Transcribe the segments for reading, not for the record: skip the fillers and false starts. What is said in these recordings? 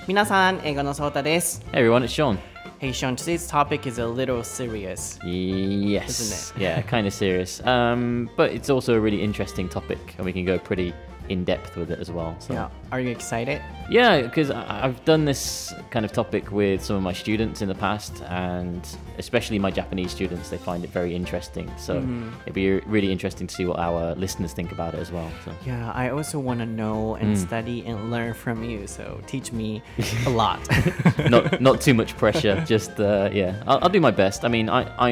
皆さん、英語のソータです。 Hey everyone, it's Sean. Hey Sean, today's topic is a little serious. Yes. Isn't it? Yeah, kind of serious. But it's also a really interesting topic, and we can go pretty in depth with it as well. So. Yeah. Are you excited? Yeah, because I've done this kind of topic with some of my students in the past, and especially my Japanese students, they find it very interesting. So it'd be really interesting to see what our listeners think about it as well. So. Yeah, I also want to know and study and learn from you. So teach me a lot. not too much pressure. Just I'll do my best. I mean,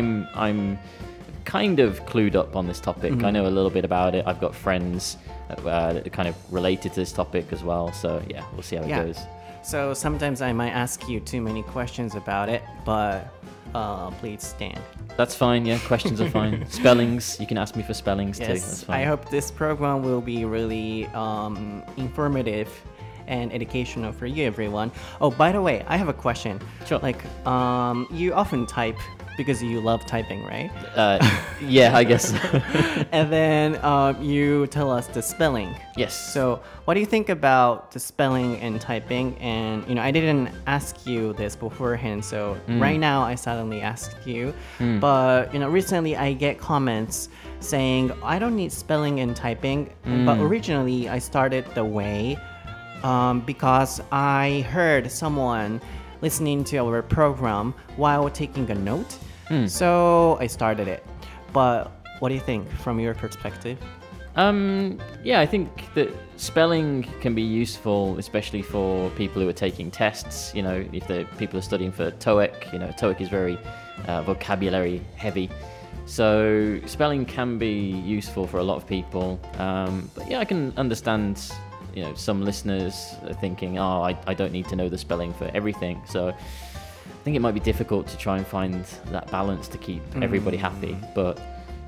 I'm kind of clued up on this topic. I know a little bit about it. I've got friends that are kind of related to this topic as well. So yeah, we'll see how it goes. So sometimes I might ask you too many questions about it, but please stand. That's fine. Yeah, questions are fine. Spellings, you can ask me for spellings too. That's fine. I hope this program will be really informative and educational for you, everyone. Oh, by the way, I have a question. Sure. Like, you often type because you love typing, right? Yeah, I guess. And then you tell us the spelling. Yes. So what do you think about the spelling and typing? And, I didn't ask you this beforehand, so right now I suddenly asked you. But, recently I get comments saying, I don't need spelling and typing. But originally I started the way because I heard someone listening to our program while taking a note. So I started it. But what do you think from your perspective? Yeah, I think that spelling can be useful, especially for people who are taking tests. If the people are studying for TOEIC, TOEIC is very vocabulary heavy. So spelling can be useful for a lot of people. But yeah, I can understand, some listeners are thinking, I don't need to know the spelling for everything. So I think it might be difficult to try and find that balance to keep everybody happy. But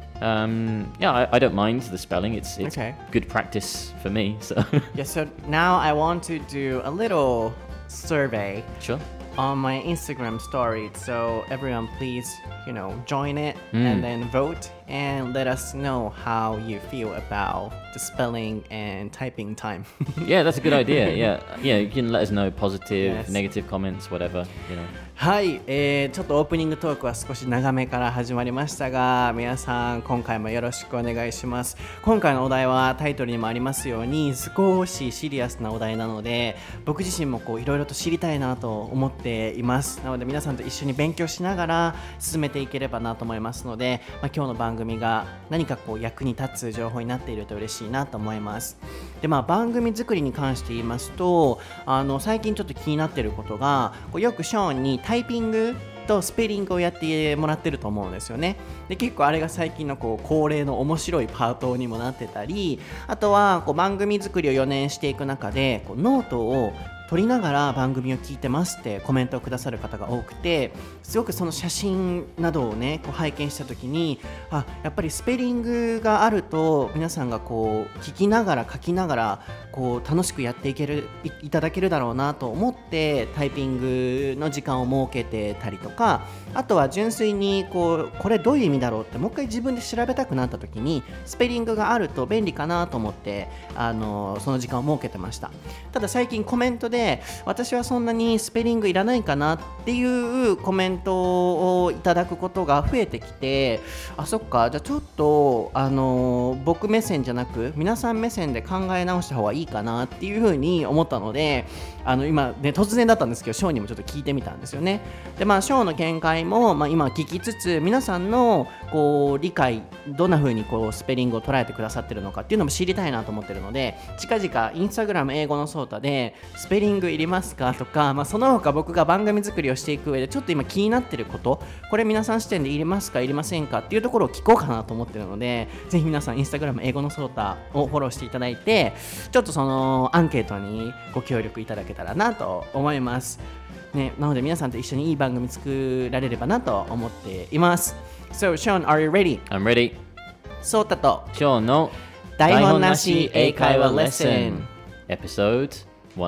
I don't mind the spelling. It's okay. Good practice for me. So So now I want to do a little survey. Sure. On my Instagram story. So everyone please, join it and then vote and let us know how you feel about the spelling and typing time. Yeah, that's a good idea. Yeah, you can let us know positive, negative comments, whatever. はい、ちょっとオープニングトークは少し長めから始まりましたが、皆さん今回もよろしくお願いします。今回のお題はタイトルにもありますように少しシリアスなお題なので、僕自身もいろいろと知りたいなと思っています。なので皆さんと一緒に勉強しながら進めていければなと思いますので、今日の番組が何か役に立つ情報になっていると嬉しいなと思います。で、番組作りに関して言いますと、最近ちょっと気になっていることが、よくショーンにタイピングとスペリングをやってもらってると思うんですよね。で、結構あれが最近の恒例の面白いパートにもなってたり、あとは番組作りを4年していく中でノートを撮りながら番組を聞いてますってコメントをくださる方が多くて、すごくその写真などをね拝見した時に、やっぱりスペリングがあると皆さんが聞きながら書きながら楽しくやっていただけるだろうなと思ってタイピングの時間を設けてたりとか、あとは純粋にこれどういう意味だろうってもう一回自分で調べたくなった時にスペリングがあると便利かなと思ってその時間を設けてました。ただ最近コメントで私はそんなにスペリングいらないかなっていうコメントをいただくことが増えてきて、そっか、じゃあちょっと僕目線じゃなく皆さん目線で考え直した方がいいかなっていうふうに思ったので、今ね突然だったんですけどショーにもちょっと聞いてみたんですよね。で、ショーの見解も、今聞きつつ皆さんの理解どんな風にスペリングを捉えてくださってるのかっていうのも知りたいなと思ってるので、近々インスタグラム英語のソータでスペリングいりますかとか、その他僕が番組作りをしていく上でちょっと今気になってること、これ皆さん視点でいりますかいりませんかっていうところを聞こうかなと思ってるので、ぜひ皆さんインスタグラム英語のソータをフォローしていただいて、ちょっとそのアンケートにご協力いただけたらなと思いますね。なので皆さんと一緒にいい番組作られればなと思っています。So Sean, are you ready? I'm ready. ソータと Sean の台本なし英会話レッスン Episode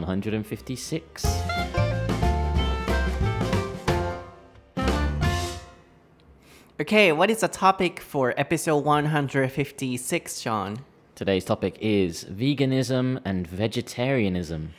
156. Okay, what is the topic for episode 156, Sean? Today's topic is veganism and vegetarianism.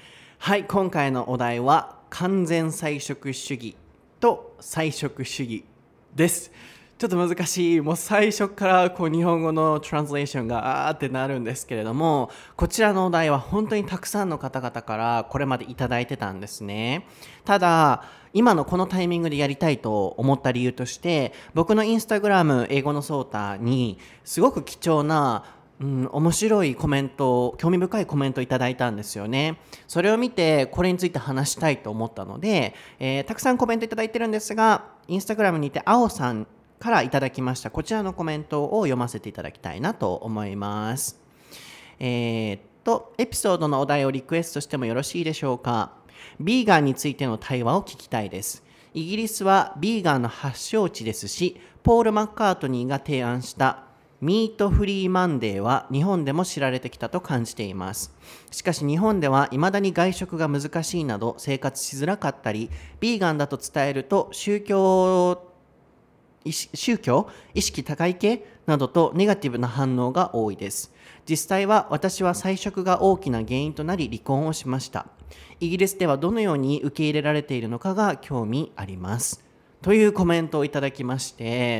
はい、今回のお題は完全菜食主義と菜食主義です。ちょっと難しい、もう最初から日本語のトランスレーションがってなるんですけれども、こちらのお題は本当にたくさんの方々からこれまでいただいてたんですね。ただ今のこのタイミングでやりたいと思った理由として、僕のインスタグラム英語のソータにすごく貴重な面白いコメント、興味深いコメントいただいたんですよね。それを見てこれについて話したいと思ったので、たくさんコメントいただいてるんですが、インスタグラムにて青さんからいただきましたこちらのコメントを読ませていただきたいなと思います。エピソードのお題をリクエストしてもよろしいでしょうか。ビーガンについての対話を聞きたいです。イギリスはビーガンの発祥地ですし、ポール・マッカートニーが提案したミートフリーマンデーは日本でも知られてきたと感じています。しかし日本では未だに外食が難しいなど生活しづらかったり、ビーガンだと伝えると宗教意識高い系などとネガティブな反応が多いです。実際は私は菜食が大きな原因となり離婚をしました。イギリスではどのように受け入れられているのかが興味あります。というコメントをいただきまして、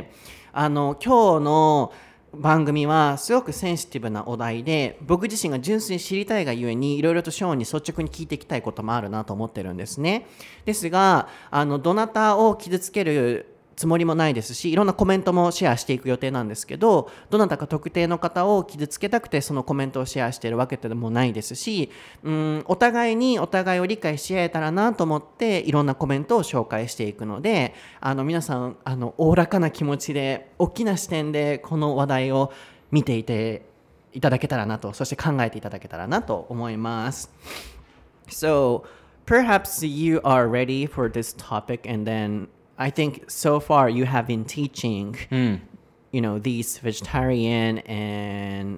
今日の番組はすごくセンシティブなお題で、僕自身が純粋に知りたいがゆえにいろいろとショーンに率直に聞いていきたいこともあるなと思ってるんですね。ですがどなたを傷つけるつもりもないですし、いろんなコメントもシェアしていく予定なんですけど、どなたか特定の方を傷つけたくてそのコメントをシェアしているわけでもないですし、お互いにお互いを理解し合えたらなと思っていろんなコメントを紹介していくので、皆さんおおらかな気持ちで大きな視点でこの話題を見ていていただけたらなと、そして考えていただけたらなと思います。So perhaps you are ready for this topic, and then I think so far you have been teaching, these vegetarian and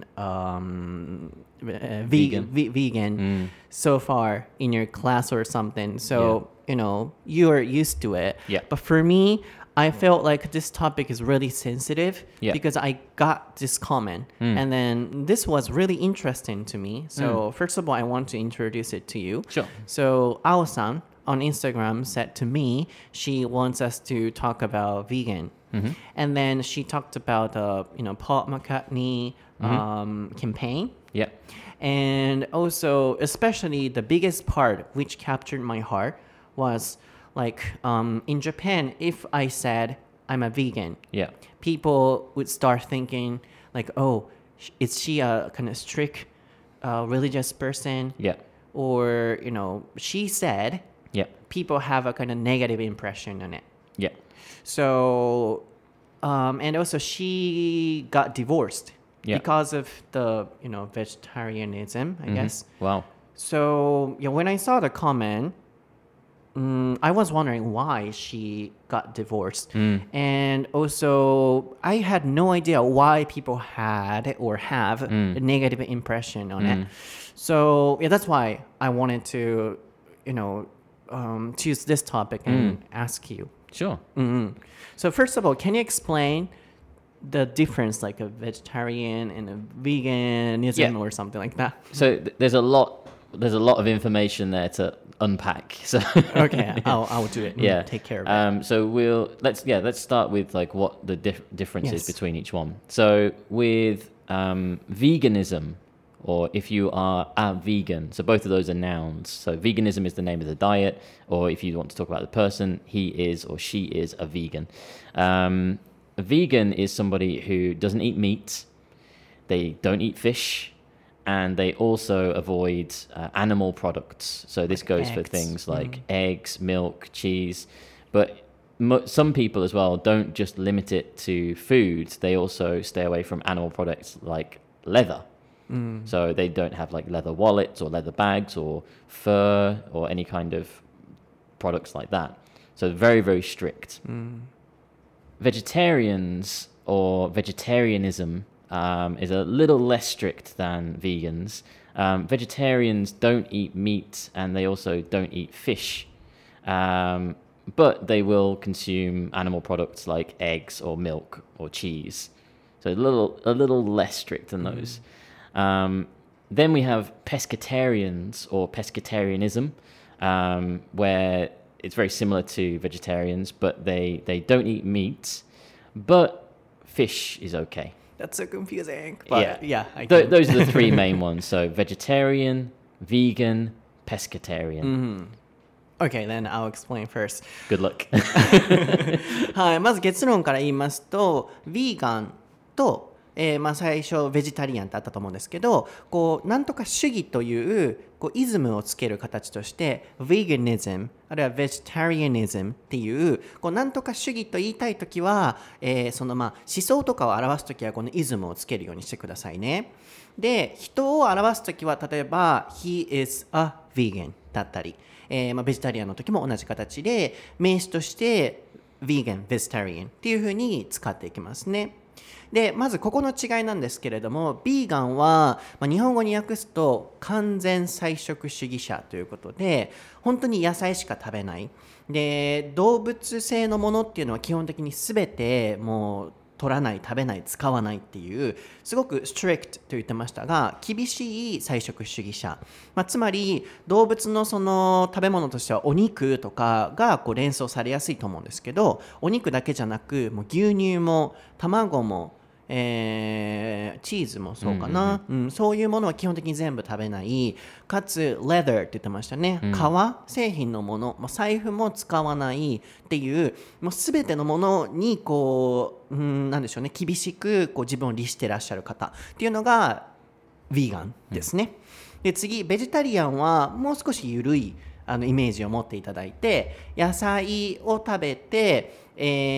vegan so far in your class or something. So, you are used to it. Yeah. But for me, I felt like this topic is really sensitive because I got this comment and then this was really interesting to me. So first of all, I want to introduce it to you. Sure. So Ao-san on Instagram said to me she wants us to talk about vegan. And then she talked about Paul McCartney campaign. Yeah. And also, especially the biggest part which captured my heart was like in Japan, if I said I'm a vegan, people would start thinking like, oh, is she a kind of strict religious person? Or, she said people have a kind of negative impression on it. So, and also she got divorced because of the, vegetarianism, I guess. Wow. So, when I saw the comment, I was wondering why she got divorced. And also, I had no idea why people had or have a negative impression on it. So, that's why I wanted to, choose this topic and ask you. Sure. So first of all, can you explain the difference like a vegetarian and a veganism or something like that? So there's a lot of information there to unpack. So okay, I'll do it. Take care of it. So let's start with like what the difference is between each one. So with veganism, or if you are a vegan, so both of those are nouns. So veganism is the name of the diet, or if you want to talk about the person, he is or she is a vegan. A vegan is somebody who doesn't eat meat, they don't eat fish, and they also avoid animal products. So this goes for things like eggs, milk, cheese. But some people as well don't just limit it to food, they also stay away from animal products like leather. So they don't have like leather wallets or leather bags or fur or any kind of products like that. So very, very strict. Vegetarians or vegetarianism is a little less strict than vegans. Vegetarians don't eat meat and they also don't eat fish. But they will consume animal products like eggs or milk or cheese. So a little less strict than those. Then we have pescatarians or pescatarianism, where it's very similar to vegetarians, but they don't eat meat, but fish is okay. That's so confusing. But I Those are the three main ones. So vegetarian, vegan, pescatarian. Okay, then I'll explain first. Good luck. はい、まず結論から言いますと、ヴィーガンと、最初ベジタリアンってあったと思うんですけど、こうなんとか主義というこうイズムをつける形として veganism あるいは vegetarianism っていうこうなんとか主義と言いたいときは、その思想とかを表すときはこのイズムをつけるようにしてくださいね。で、人を表すときは例えば he is a vegan だったり、ベジタリアンの時も同じ形で名詞として vegan, vegetarian っていう風に使っていきますね。でまずここの違いなんですけれども、ビーガンは、日本語に訳すと完全菜食主義者ということで、本当に野菜しか食べない。で、動物性のものっていうのは基本的に全てもう取らない、食べない、使わないっていう、すごく strict と言ってましたが、厳しい菜食主義者。つまり動物のその食べ物としてはお肉とかがこう連想されやすいと思うんですけど、お肉だけじゃなく、もう牛乳も卵もチーズもそうかな、そういうものは基本的に全部食べない。かつ leather って言ってましたね、革製品のもの、財布も使わないっていう、もう全てのものにこう、なんでしょうね、厳しくこう自分を律してらっしゃる方っていうのがヴィーガンですね。で次ベジタリアンはもう少し緩いイメージを持っていただいて、野菜を食べて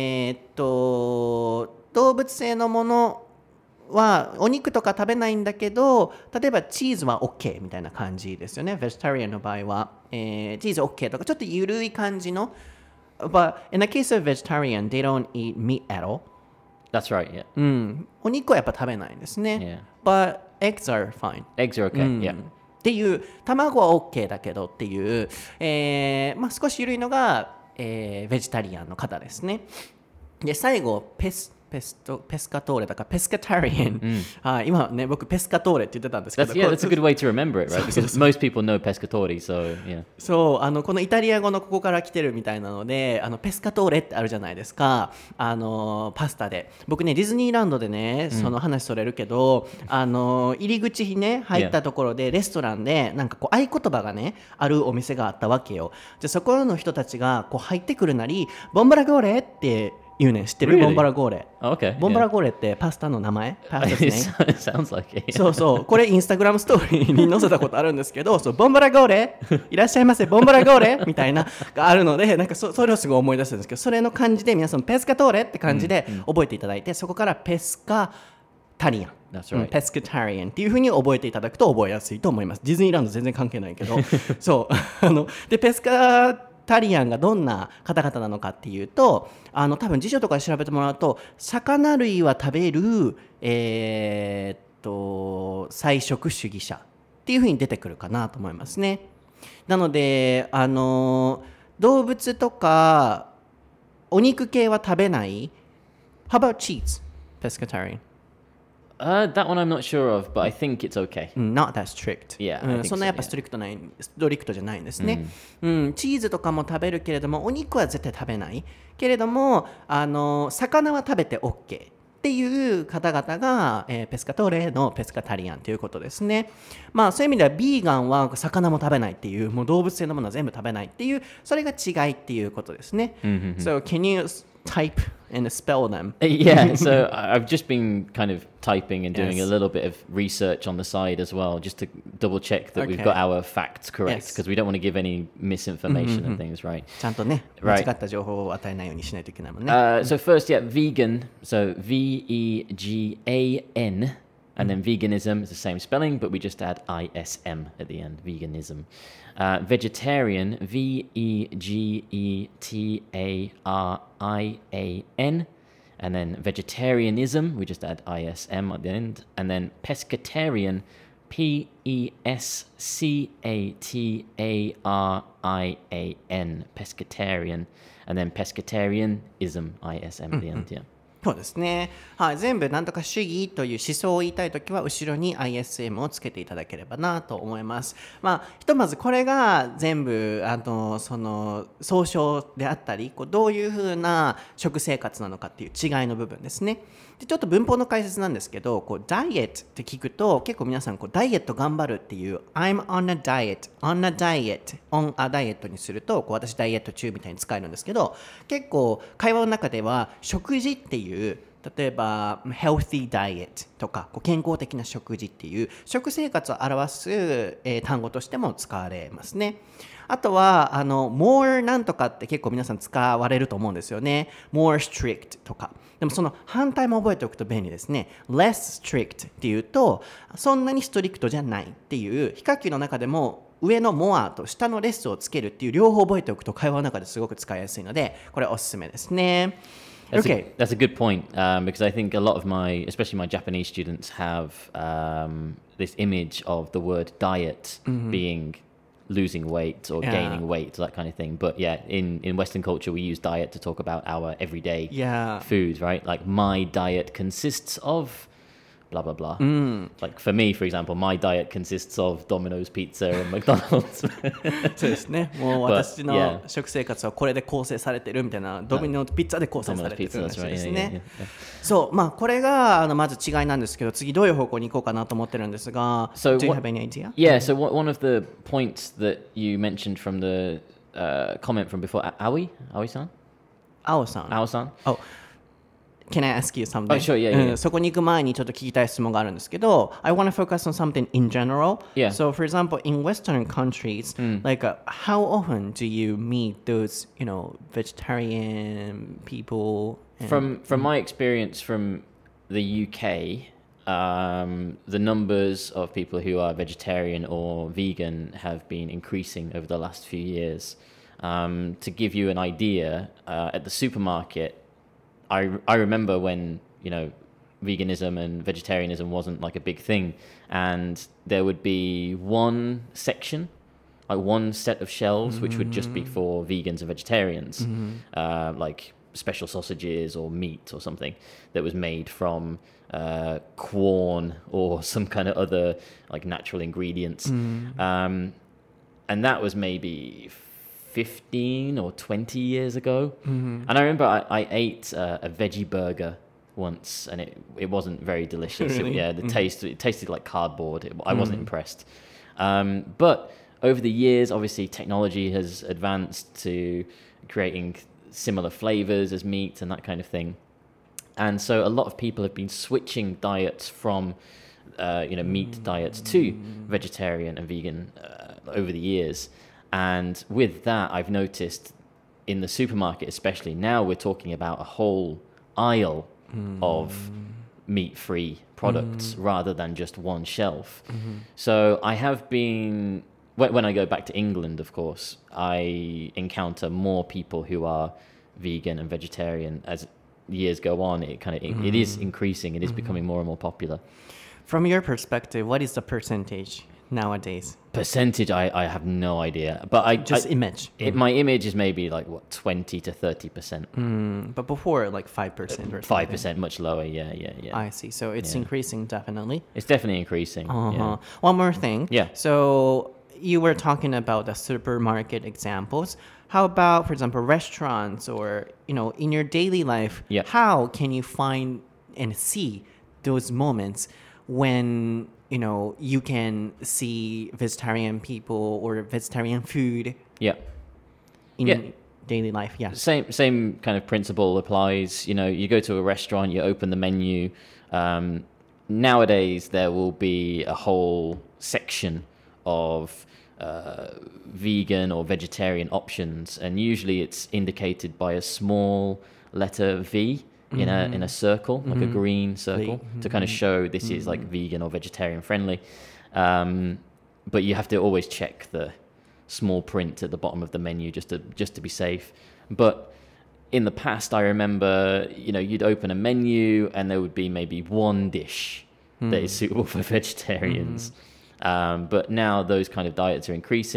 動物性のものはお肉とか食べないんだけど、例えばチーズは OK みたいな感じですよね。ベジタリアンの場合は、チーズ OK とかちょっと緩い感じの。But in the case of vegetarian, they don't eat meat at all. That's right, yeah. お肉はやっぱ食べないんですね。But eggs are fine. Eggs are okay, yeah. っていう、卵は OK だけどっていう、少し緩いのが、ベジタリアンの方ですね。で最後ペスカトーレだからペスカタリアン、今ね僕ペスカトーレって言ってたんですけど、 that's a good way to remember it, right? Because most people know pescatori, so yeah. そうこのイタリア語のここから来てるみたいなので、ペスカトーレってあるじゃないですか、パスタで。僕ねディズニーランドでね、その話それるけど、入り口にね入ったところでレストランでなんかこう合言葉がねあるお店があったわけよ。じゃそこの人たちがこう入ってくるなりボンバラゴーレって言うねん。知ってる？ Really? ボンバラゴーレ。 Okay. ボンバラゴーレってパスタの名前？パスタですね。 It sounds like it. そうそう。これインスタグラムストーリーに載せたことあるんですけど、そうボンバラゴーレいらっしゃいませ、ボンバラゴーレみたいながあるので、なんかそれをすごい思い出したんですけど、それの感じで皆さんペスカトーレって感じで覚えていただいて、そこからペスカタリアン。 That's right. ペスカタリアンっていう風に覚えていただくと覚えやすいと思います。ディズニーランド全然関係ないけど、そうでペスカタリアンがどんな方々なのかっていうと、多分辞書とかで調べてもらうと、魚類は食べる菜食主義者っていう風に出てくるかなと思いますね。なので動物とかお肉系は食べない。 How about cheese? Pescatarian? That one I'm not sure of, but I think it's okay. Not that strict. Yeah, I think so, そんなやっぱストリクトじゃないんですね。チーズとかも食べるけれども、お肉は絶対食べないけれども、魚は食べて OK っていう方々が、ペスカトーレのペスカタリアンということですね。そういう意味ではビーガンは魚も食べないっていう、もう動物性のものは全部食べないっていう、それが違いっていうことですね。So can you type and spell them? Yeah, so I've just been kind of typing and doing a little bit of research on the side as well, just to double check that we've got our facts correct, because we don't want to give any misinformation and things, right? ちゃんとね、間違った情報を与えないようにしないといけないもんね。 So first, yeah, vegan, so V-E-G-A-N, and then veganism is the same spelling, but we just add I-S-M at the end, veganism. Vegetarian, V-E-G-E-T-A-R-I-A-N, and then vegetarianism, we just add I-S-M at the end, and then pescatarian, P-E-S-C-A-T-A-R-I-A-N, pescatarian, and then pescatarianism, I-S-M at the end, yeah. そうですね、はい、全部なんとか主義という思想を言いたいときは後ろに ISM をつけていただければなと思います。まあひとまずこれが全部その総称であったり、こうどういうふうな食生活なのかっていう違いの部分ですね。でちょっと文法の解説なんですけど、こうダイエットって聞くと結構皆さんこうダイエット頑張るっていう I'm on a diet on a diet on a diet にするとこう私ダイエット中みたいに使えるんですけど、結構会話の中では食事っていう例えば healthy diet とかこう健康的な食事っていう食生活を表す、単語としても使われますね。あとはmore なんとかって結構皆さん使われると思うんですよね。more strict とか。でもその反対も覚えておくと便利ですね。less strict っていうとそんなにストリクトじゃないっていう比較級の中でも上の more と下の less をつけるっていう両方覚えておくと会話の中ですごく使いやすいのでこれおすすめですね。 That's a good point because I think a lot of especially my Japanese students, have this image of the word diet being losing weight or gaining weight, that kind of thing. But yeah, in Western culture, we use diet to talk about our everyday food, right? Like my diet consists of blah blah blah. Like for me, for example, my diet consists of Domino's pizza and McDonald's. そうですね。もう私の食生活はこれで構成されてるみたいな、ドミノピッツァで構成されてる話ですね。そう、まあこれがまず違いなんですけど、次どういう方向に行こうかなと思ってるんですが、 So do you have any idea? Yeah, so one of the points that you mentioned from the comment from before, Aoi-san? Ao-san. Ao-san? Oh.Can I ask you something? Oh, sure, yeah. そこに行く前にちょっと聞きたい質問があるんですけど、I want to focus on something in general. Yeah. So, for example, in Western countries, like how often do you meet those, vegetarian people? From my experience from the UK, the numbers of people who are vegetarian or vegan have been increasing over the last few years. To give you an idea, at the supermarket,I remember when, veganism and vegetarianism wasn't like a big thing, and there would be one section, like one set of shelves, which would just be for vegans and vegetarians, like special sausages or meat or something that was made from corn or some kind of other like natural ingredients. And that was maybe 15 or 20 years ago. And I remember I ate a veggie burger once, and it wasn't very delicious. Really? It tasted like cardboard. I wasn't impressed. But over the years, obviously, technology has advanced to creating similar flavors as meat and that kind of thing. And so a lot of people have been switching diets from meat diets to vegetarian and vegan over the years. And with that, I've noticed in the supermarket, especially now, we're talking about a whole aisle of meat-free products rather than just one shelf. So I have been, when I go back to England, of course, I encounter more people who are vegan and vegetarian. As years go on, it is increasing. It is becoming more and more popular. From your perspective, what is the percentage nowadays? Percentage, I have no idea, but image. My image is maybe like 20 to 30%. But before, like 5% or 5%, much lower. Yeah. I see. So it's increasing, definitely. It's definitely increasing. Yeah. One more thing. Yeah. So you were talking about the supermarket examples. How about, for example, restaurants or, in your daily life, how can you find and see those moments when, you can see vegetarian people or vegetarian food in daily life? Yeah. Same kind of principle applies. You go to a restaurant, you open the menu. Nowadays, there will be a whole section of vegan or vegetarian options, and usually it's indicated by a small letter V in a circle, like a green circle, to kind of show this is like vegan or vegetarian friendly. But you have to always check the small print at the bottom of the menu just to be safe. But in the past, I remember, you'd open a menu and there would be maybe one dish that is suitable for vegetarians. But now those kind of diets are increasing.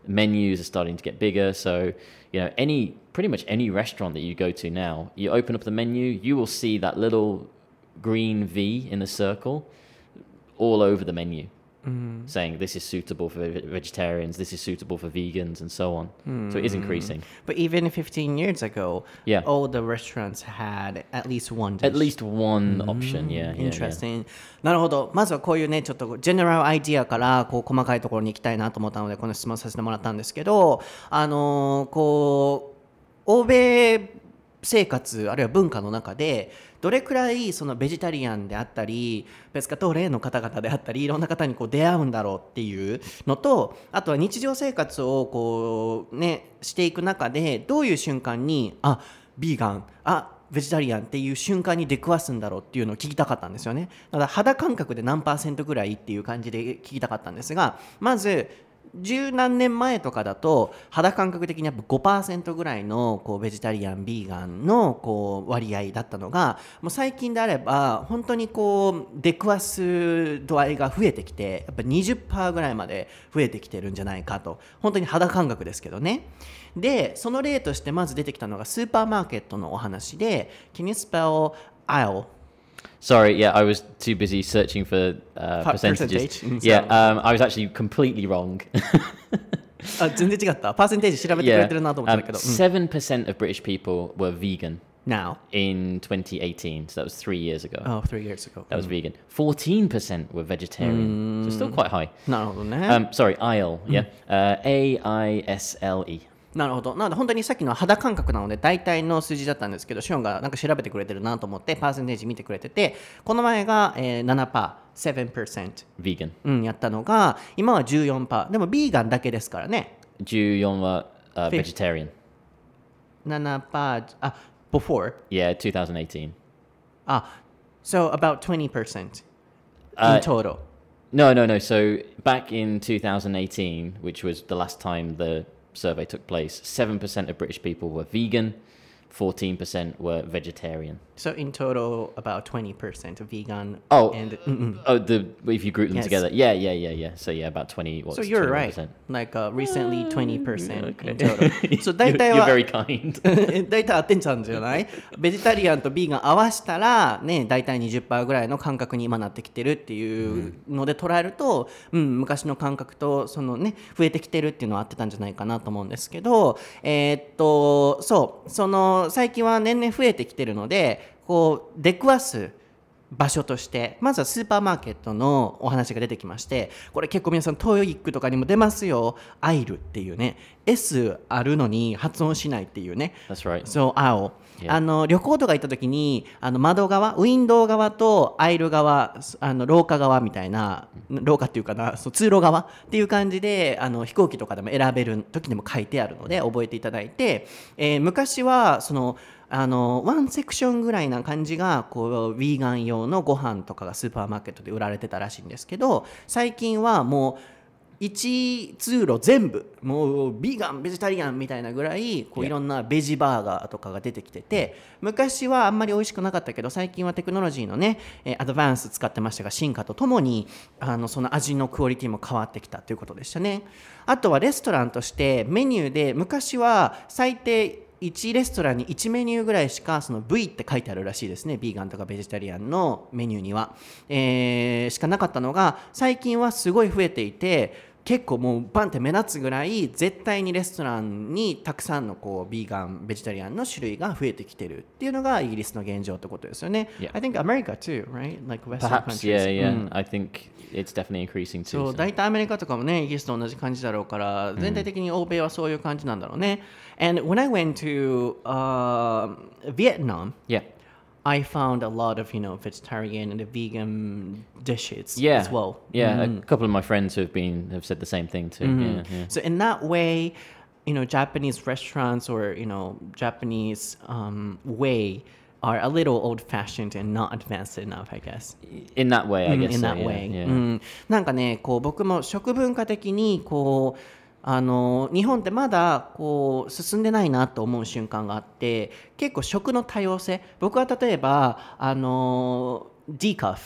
menus are starting to get bigger. So, pretty much any restaurant that you go to now, you open up the menu, you will see that little green V in the circle all over the menu. Saying this is suitable for vegetarians, this is suitable for vegans, and so on. So it is increasing. But even 15 years ago, Yeah. all the restaurants had at least one dish. At least one option, Interesting. なるほど。まずはこういうね、ちょっとジェネラルアイディアからこう細かいところに行きたいなと思ったので、この質問させてもらったんですけど、こう欧米生活あるいは文化の中でどれくらいそのベジタリアンであったりペスカトーレの方々であったりいろんな方にこう出会うんだろうっていうのと、あとは日常生活をこうねしていく中でどういう瞬間にビーガンベジタリアンっていう瞬間に出くわすんだろうっていうのを聞きたかったんですよね。だから肌感覚で何%ぐらいっていう感じで聞きたかったんですが、まず十何年前とかだと肌感覚的にやっぱ 5% ぐらいのこうベジタリアンビーガンのこう割合だったのが、もう最近であれば本当にこう出くわす度合いが増えてきてやっぱ 20% ぐらいまで増えてきてるんじゃないかと、本当に肌感覚ですけどね。でその例としてまず出てきたのがスーパーマーケットのお話で Can you spell aisle? Sorry, yeah, I was too busy searching for percentages. Yeah, I was actually completely wrong. 全然違った。パーセンテージ調べてくれてるなと思ったんだけど。 7% of British people were vegan. Now? In 2018, so that was 3 years ago. Oh, 3 years ago. That was vegan. 14% were vegetarian, so still quite high. なるほどね。 Sorry, aisle, yeah. AISLE. なるほど。なので本当にさっきの肌感覚なので大体の数字だったんですけど、シオンがなんか調べてくれてるなと思ってパーセンテージ見てくれてて、この前が、7%、 Vegan. やったのが今は 14%。でもビーガンだけですからね。 14はvegetarian. 7%、before? Yeah, 2018. So about 20% in total. No. So back in 2018, which was the last time the survey took place, 7% of British people were vegan, 14% were vegetarian. So in total, about 20% vegan. If you group them together, yeah. So yeah, about 20. So you're 21%. Right. Like recently, 20% in total. So You're very kind. 大体合ってんちゃうんじゃない？ベジタリアンとビーガン合わせたらね、大体 20% ぐらいの感覚に今なってきてるっていうので捉えると、昔の感覚とそのね増えてきてるっていうのは合ってたんじゃないかなと思うんですけど、その最近は年々増えてきてるので。こう出くわす場所としてまずはスーパーマーケットのお話が出てきまして、これ結構皆さんトイックとかにも出ますよ。アイルっていうね S あるのに発音しないっていうね。 That's right. So, 青、旅行とか行った時に窓側ウィンドウ側とアイル側廊下側みたいな、廊下っていうかな、そう通路側っていう感じで飛行機とかでも選べる時にも書いてあるので覚えていただいて、昔はそのワンセクションぐらいな感じがこうヴィーガン用のご飯とかがスーパーマーケットで売られてたらしいんですけど、最近はもう1通路全部もうビーガンベジタリアンみたいなぐらいこういろんなベジバーガーとかが出てきてて、昔はあんまり美味しくなかったけど最近はテクノロジーのねアドバンス使ってましたが、進化とともにその味のクオリティも変わってきたということでしたね。あとはレストランとしてメニューで昔は最低1レストランに1メニューぐらいしかその V って書いてあるらしいですね。ビーガンとかベジタリアンのメニューには、しかなかったのが最近はすごい増えていて、結構もうバンって目立つぐらい絶対にレストランにたくさんのこうビーガンベジタリアンの種類が増えてきてるっていうのがイギリスの現状ってことですよね。 Yeah. I think America too, right? Like Western Perhaps, countries. yeah. I think it's definitely increasing too. そう、大体アメリカとかもね、イギリスと同じ感じだろうから、全体的に欧米はそういう感じなんだろうね。And when I went to Vietnam, Yeah. I found a lot of, vegetarian and vegan dishes Yeah. as well. Yeah, a couple of my friends have said the same thing too. Yeah. So in that way, Japanese restaurants or, Japanese way are a little old-fashioned and not advanced enough, I guess. In that way, I guess. In so, that yeah, way. yeah. なんかね、こう僕も食文化的にこう日本ってまだこう進んでないなと思う瞬間があって、結構食の多様性、僕は例えばディカフ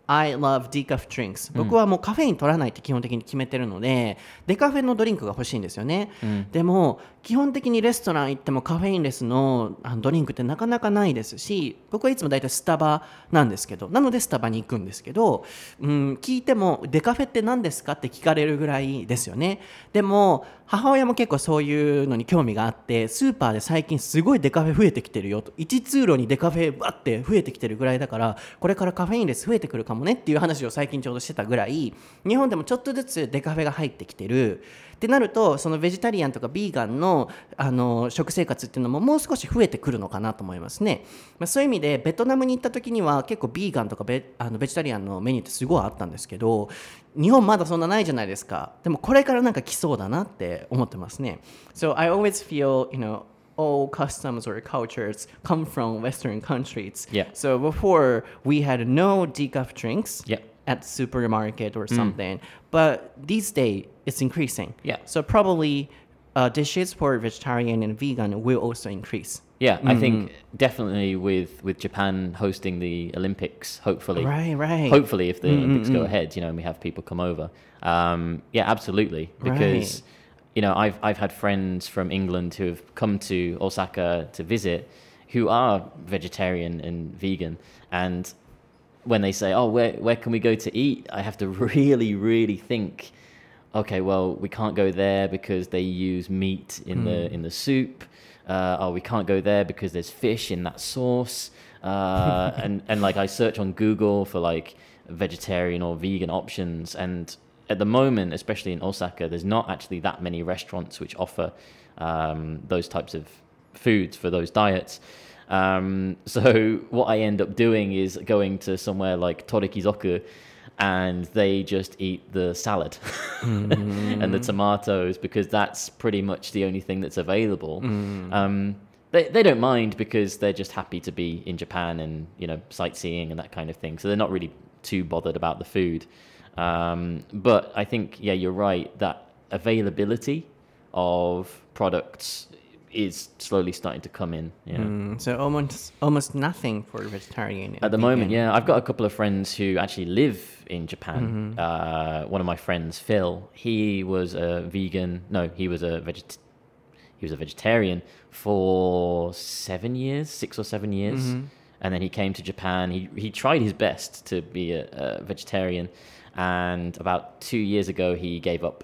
I love decaf drinks、僕はもうカフェイン取らないって基本的に決めてるので、デカフェのドリンクが欲しいんですよね、でも基本的にレストラン行ってもカフェインレスのドリンクってなかなかないですし、僕はいつもだいたいスタバなんですけど、なのでスタバに行くんですけど、聞いてもデカフェって何ですかって聞かれるぐらいですよね。でも母親も結構そういうのに興味があって、スーパーで最近すごいデカフェ増えてきてるよと、1通路にデカフェバッて増えてきてるぐらいだから、これからカフェインレス増えてくるかもねっていう話を最近ちょうどしてたぐらい、日本でもちょっとずつデカフェが入ってきてるってなると、そのベジタリアンとかビーガンの、食生活っていうのももう少し増えてくるのかなと思いますね、そういう意味でベトナムに行った時には結構ビーガンとかベジタリアンのメニューってすごいあったんですけど、日本まだそんなないじゃないですか。でもこれからなんか来そうだなって思ってますね。 So I always feel, all customs or cultures come from Western countries. Yeah. So before we had no decaf drinks Yeah. at supermarket or something, but these days it's increasing. Yeah. So probably dishes for vegetarian and vegan will also increase. Yeah, I think definitely with Japan hosting the Olympics, hopefully. Right. Hopefully, if the Olympics go ahead, and we have people come over. Yeah, absolutely. Because, I've had friends from England who have come to Osaka to visit who are vegetarian and vegan. And when they say, oh, where can we go to eat? I have to really, really think, okay, well, we can't go there because they use meat in the soup. We can't go there because there's fish in that sauce. And like I search on Google for like vegetarian or vegan options, and at the moment, especially in Osaka, there's not actually that many restaurants which offer those types of foods for those diets. So what I end up doing is going to somewhere like Torikizoku, and they just eat the salad and the tomatoes because that's pretty much the only thing that's available. They don't mind because they're just happy to be in Japan and sightseeing and that kind of thing. So they're not really too bothered about the food. But I think you're right that availability of products is slowly starting to come in. So almost nothing for vegetarian and At the vegan. moment, I've got a couple of friends who actually live in Japan. One of my friends, Phil, he was a vegan. No, he was a vegetarian for 6 or 7 years, and then he came to Japan. He tried his best to be a vegetarian, and about 2 years ago he gave up.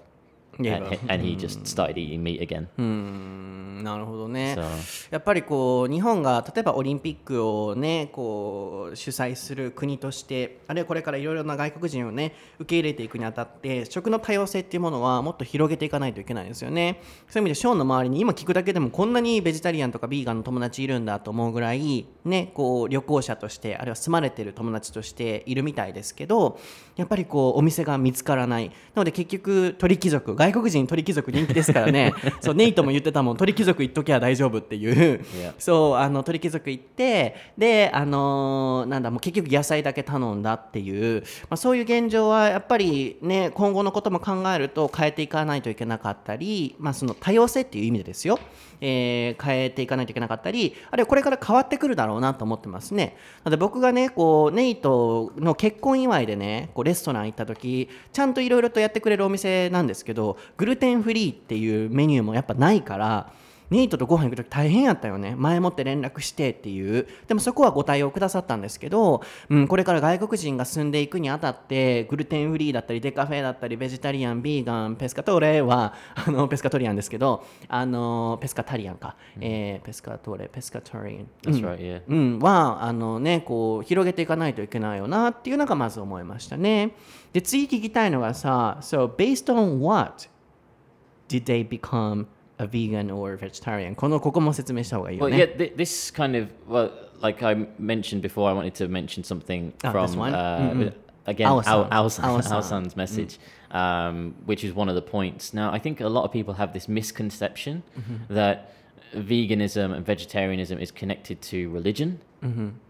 And he just started eating meat again. なるほどね。 So やっぱりこう日本が例えばオリンピックをねこう主催する国として、あるいはこれからいろいろな外国人をね受け入れていくにあたって食の多様性っていうものはもっと広げていかないといけないですよね。そういう意味でショーンの周りに今聞くだけでもこんなにベジタリアンとかビーガンの友達いるんだと思うぐらいね、こう旅行者としてあるいは住まれてる友達としているみたいですけど、やっぱりこうお店が見つからない。なので結局鳥貴族、外国人鳥貴族人気ですからね。そうネイトも言ってたもん、鳥貴族行っときゃ大丈夫っていう、 Yeah. そう鳥貴族行ってでもう結局野菜だけ頼んだっていう、そういう現状はやっぱりね今後のことも考えると変えていかないといけなかったり、その多様性っていう意味でですよ、変えていかないといけなかったり、あるいはこれから変わってくるだろうなと思ってますね。なので僕がねこうネイトの結婚祝いでねこうレストラン行った時ちゃんといろいろとやってくれるお店なんですけど、グルテンフリーっていうメニューもやっぱないから、ネイトとご飯行くとき大変やったよね。前もって連絡してっていう。でもそこはご対応くださったんですけど、これから外国人が住んでいくにあたってグルテンフリーだったりデカフェだったりベジタリアン、ビーガン、ペスカトーレはペスカトリアンですけど、ペスカタリアンか、ペスカトーレ、ペスカトリアン、 that's right, yeah. はこう広げていかないといけないよなっていうのがまず思いましたね。で次聞きたいのがさ、So based on what did they become a vegan or vegetarian? ここも説明した方がいいよ Well, ね。 yeah, this kind of, like I mentioned before, I wanted to mention something from this one? again Ao-san. Ao-san's message, which is one of the points. Now, I think a lot of people have this misconception that veganism and vegetarianism is connected to religion.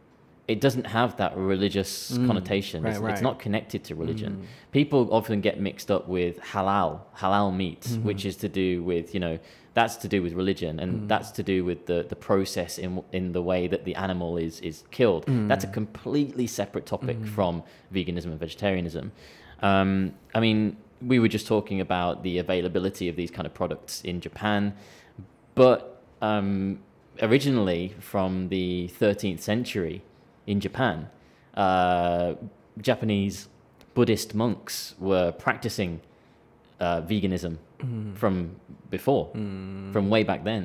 it doesn't have that religious connotation. It's not connected to religion. People often get mixed up with halal meat, which is to do with, that's to do with religion, and that's to do with the process in the way that the animal is killed. That's a completely separate topic from veganism and vegetarianism. I mean, we were just talking about the availability of these kind of products in Japan, but originally from the 13th century in Japan, Japanese Buddhist monks were practicing veganism from before, from way back then.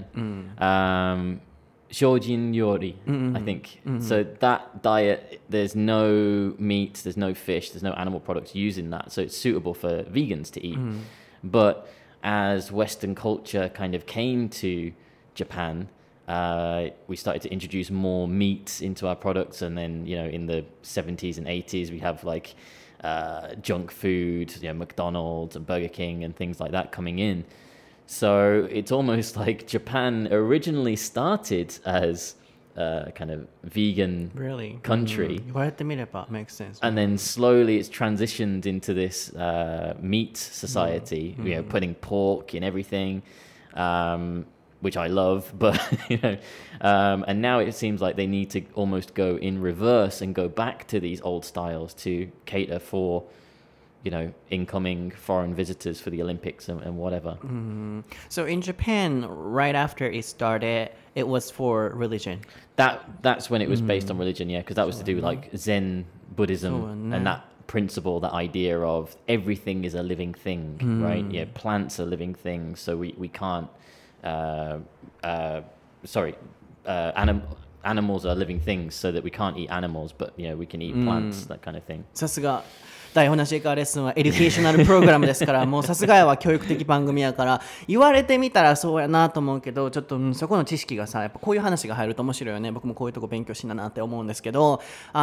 Shojin Yori, I think. So that diet, there's no meat, there's no fish, there's no animal products used in that. So it's suitable for vegans to eat. But as Western culture kind of came to Japan, we started to introduce more meat into our products. And then, in the 70s and 80s, we have like junk food, McDonald's and Burger King and things like that coming in. So it's almost like Japan originally started as a kind of vegan country. 言われてみれば makes sense. And then slowly it's transitioned into this meat society, putting pork in everything, which I love, but, and now it seems like they need to almost go in reverse and go back to these old styles to cater for incoming foreign visitors for the Olympics and whatever. So in Japan, right after it started, it was for religion. That's when it was based on religion, yeah, because that was to do with like Zen Buddhism and that principle, that idea of everything is a living thing, right? Yeah, plants are living things, so we can't. Animals are living things, so that we can't eat animals, but we can eat plants, that kind of thing. さすが台本なし英会話レッスンはエデュケーショナルプログラムですからもうさすがやは教育的番組やから言われてみたらそうやなと思うけどちょっと、そこの知識がさやっぱこういう話が入ると面白いよね。僕もこういうとこ勉強しななって思うんですけど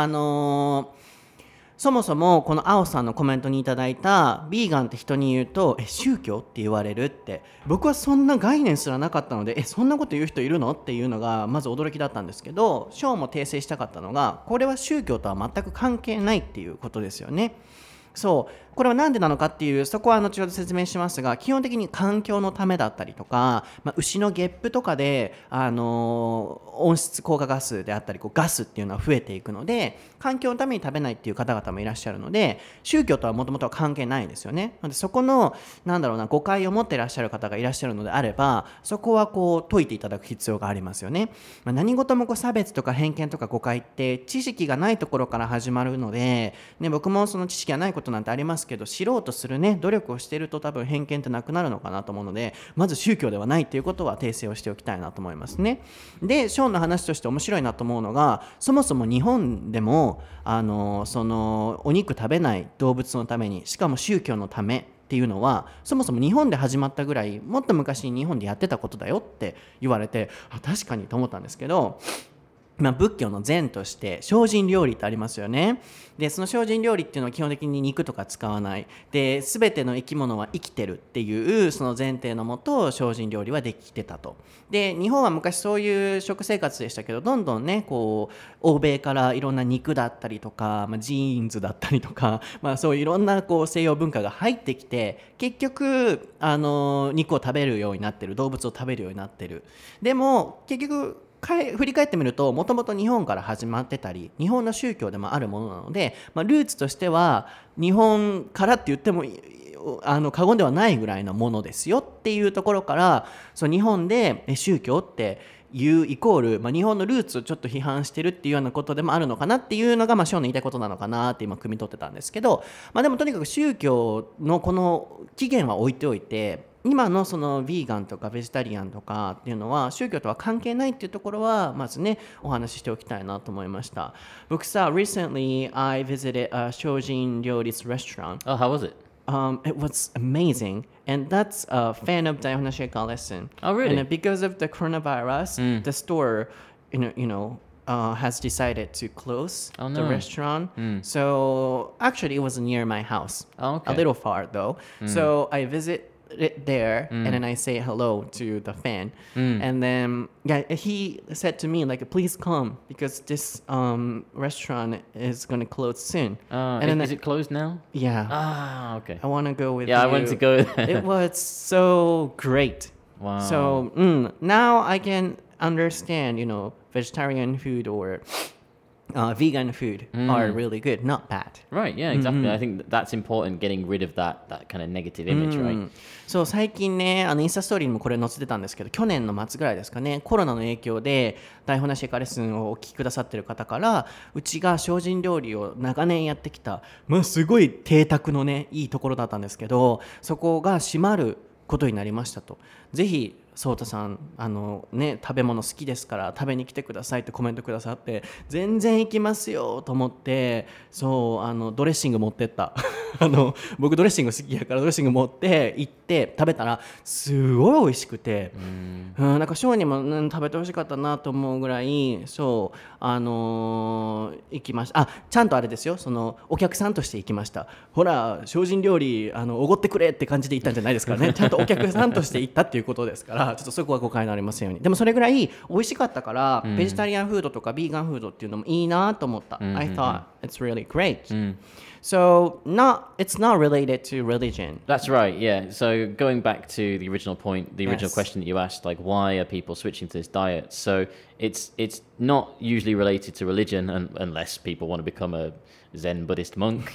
そもそもこの青さんのコメントにいただいたビーガンって人に言うと宗教って言われるって僕はそんな概念すらなかったのでそんなこと言う人いるのっていうのがまず驚きだったんですけどショーも訂正したかったのがこれは宗教とは全く関係ないっていうことですよね。そうこれは何でなのかっていうそこは後ほど説明しますが基本的に環境のためだったりとか、牛のゲップとかで、温室効果ガスであったりガスっていうのは増えていくので環境のために食べないっていう方々もいらっしゃるので宗教とはもともとは関係ないんですよね。でそこの誤解を持っていらっしゃる方がいらっしゃるのであればそこは解いていただく必要がありますよね。何事も差別とか偏見とか誤解って知識がないところから始まるので、僕もその知識がないことなんてありますけど知ろうとする努力をしていると多分偏見ってなくなるのかなと思うのでまず宗教ではないということは訂正をしておきたいなと思いますね。でショーンの話として面白いなと思うのがそもそも日本でもそのお肉食べない動物のためにしかも宗教のためっていうのはそもそも日本で始まったぐらいもっと昔に日本でやってたことだよって言われて確かにと思ったんですけど仏教の禅として精進料理ってありますよね。でその精進料理っていうのは基本的に肉とか使わないで全ての生き物は生きてるっていうその前提のもと精進料理はできてたと。で日本は昔そういう食生活でしたけどどんどんね欧米からいろんな肉だったりとか、ジーンズだったりとか、そういういろんな西洋文化が入ってきて結局肉を食べるようになってる動物を食べるようになってる。でも結局振り返ってみるともともと日本から始まってたり日本の宗教でもあるものなので、ルーツとしては日本からって言っても過言ではないぐらいのものですよっていうところから日本で宗教っていうイコール、日本のルーツをちょっと批判してるっていうようなことでもあるのかなっていうのが、ショーンの言いたいことなのかなって今汲み取ってたんですけど、でもとにかく宗教のこの起源は置いておいて今のそのヴィーガンとかベジタリアンとかっていうのは宗教とは関係ないっていうところはまずねお話ししておきたいなと思いました。僕さ recently I visited a 精進料理 restaurant. Oh, how was it? It was amazing, and that's a fan of Daihon Sheka lesson. Oh, really? And because of the coronavirus, the store, has decided to close the restaurant. So actually, it was near my house. Oh, okay. A little far though. So I it there and then I say hello to the fan and then he said to me like please come because this restaurant is gonna close soon and then is it closed now? Yeah. Okay. I want to go with Yeah, you. I wanted to go there. It was so great. Wow. So now I can understand, vegetarian food or vegan food are really good, not bad. Right, yeah, exactly. I think that's important, getting rid of that kind of negative image, right? そう最近ねインスタストーリーにもこれ載せてたんですけど去年の末ぐらいですかねコロナの影響で台本なしエカレッスンをお聞きくださってる方からうちが精進料理を長年やってきた、すごい邸宅のねいいところだったんですけどそこが閉まることになりましたとぜひソータさん食べ物好きですから食べに来てくださいってコメントくださって全然行きますよと思ってそうドレッシング持ってった僕ドレッシング好きやからドレッシング持って行って食べたらすごい美味しくてなんかショーにも、食べてほしかったなと思うぐらいそう行きましたちゃんとあれですよお客さんとして行きましたほら精進料理おごってくれって感じで行ったんじゃないですからねちゃんとお客さんとして行ったっていうことですからちょっとそこは誤解のありませんようにでもそれぐらい美味しかったからベジタリアンフードとかビーガンフードっていうのもいいなと思った、I thought it's really great、So it's not related to religion. That's right, yeah. So going back to the original point, the original Yes. question that you asked, like why are people switching to this diet? So it's not usually related to religion, unless people want to become a Zen Buddhist monk.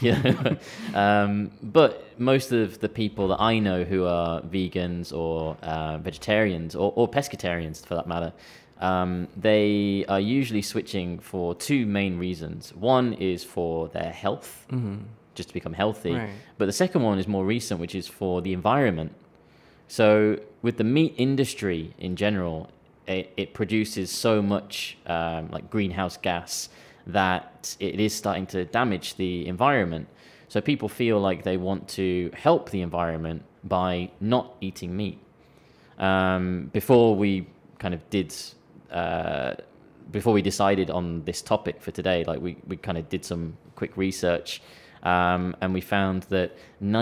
But most of the people that I know who are vegans or vegetarians or pescatarians, for that matter, they are usually switching for two main reasons. One is for their health, just to become healthy. Right. But the second one is more recent, which is for the environment. So with the meat industry in general, it produces so much like greenhouse gas that it is starting to damage the environment. So people feel like they want to help the environment by not eating meat. Before we kind of did... before we decided on this topic for today, like we kind of did some quick research, and we found that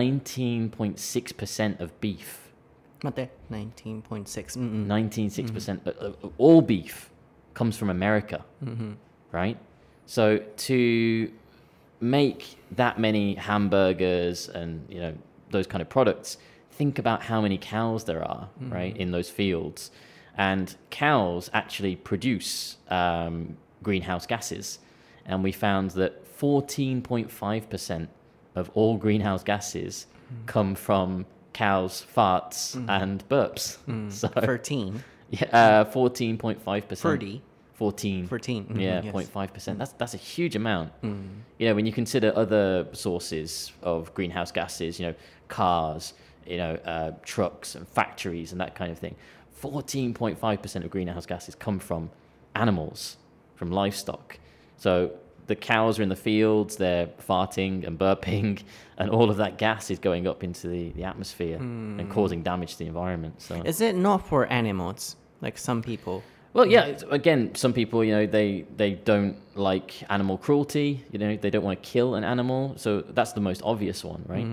19.6% of beef, 待って 19.6 19.6% of all beef comes from America, right? So to make that many hamburgers and those kind of products, think about how many cows there are, right, in those fields. And cows actually produce greenhouse gases. And we found that 14.5% of all greenhouse gases come from cows' farts and burps. So 13 yeah, 14.5%. 30 14. 14 Yeah, yes. 0.5%. That's a huge amount. When you consider other sources of greenhouse gases, cars, trucks and factories and that kind of thing. 14.5% of greenhouse gases come from animals, from livestock. So the cows are in the fields, they're farting and burping, and all of that gas is going up into the atmosphere and causing damage to the environment. So Is it not for animals like some people? well, yeah, again, some people, they don't like animal cruelty, they don't want to kill an animal. So that's the most obvious one, right?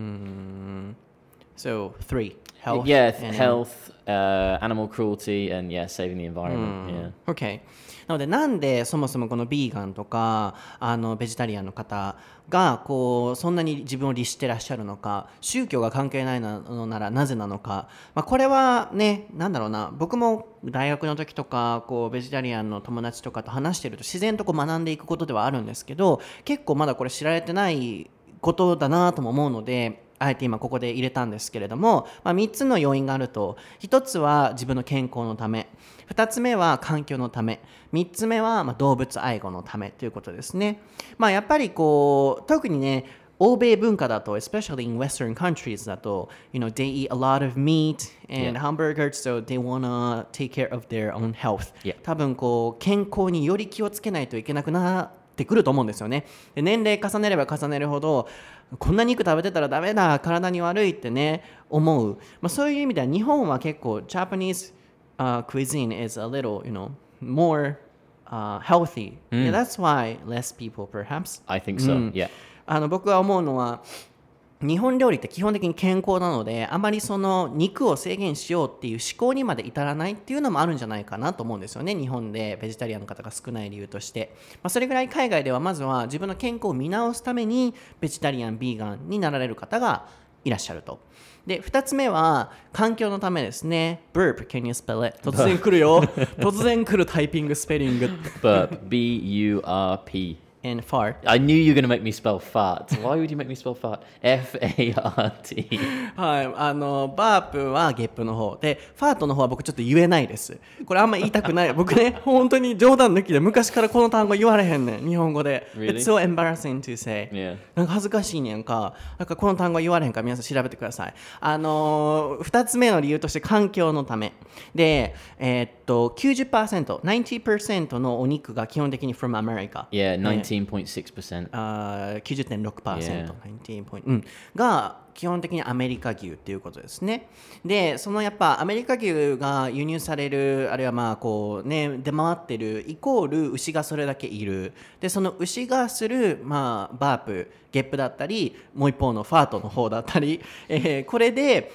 So 3 health and health, animal cruelty, and saving the environment. Okay. なのでなんでそもそもこのビーガンとかベジタリアンの方がそんなに自分を律してらっしゃるのか宗教が関係ないのならなぜなのか、これはね僕も大学の時とかベジタリアンの友達とかと話してると自然と学んでいくことではあるんですけど結構まだこれ知られてないことだなとも思うのであえて今ここで入れたんですけれども、3つの要因があると1つは自分の健康のため2つ目は環境のため3つ目は動物愛護のためということですね。やっぱり特にね欧米文化だと especially in Western countries だとthey eat a lot of meat and hamburgers so they wanna take care of their own health、多分健康により気をつけないといけなくなってくると思うんですよね。で年齢重ねれば重ねるほどこんな肉食べてたらダメだ体に悪いってね思う、そういう意味では日本は結構 Japanese、cuisine is a little more healthy、that's why less people perhaps I think so. 僕は思うのは日本料理って基本的に健康なので、あまりその肉を制限しようっていう思考にまで至らないっていうのもあるんじゃないかなと思うんですよね。日本でベジタリアンの方が少ない理由として、それぐらい海外ではまずは自分の健康を見直すためにベジタリアン、ビーガンになられる方がいらっしゃると。で、2つ目は環境のためですね。Burp, can you spell it? 突然来るよ。突然来るタイピングスペリング。 Burp, B-U-R-P. And fart. I knew you were going to make me spell fart. Why would you make me spell fart? F-A-R-T. はい、バープはゲップの方で、ファートの方は僕ちょっと言えないです。これあんま言いたくない。僕ね、本当に冗談抜きで昔からこの単語言われへんねん、日本語で。 Really? It's so embarrassing to say. Yeah. なんか恥ずかしいねんか。だからこの単語言われへんから皆さん調べてください。2つ目の理由として環境のため。で、90%、90% のお肉が基本的に from America。 Yeah, 19.6%. 90.6%、が基本的にアメリカ牛っていうことですね。で、そのやっぱアメリカ牛が輸入される、あるいはまあこうね、出回ってるイコール牛がそれだけいる。で、その牛がするまあバープ、ゲップだったり、もう一方のファートの方だったり、これで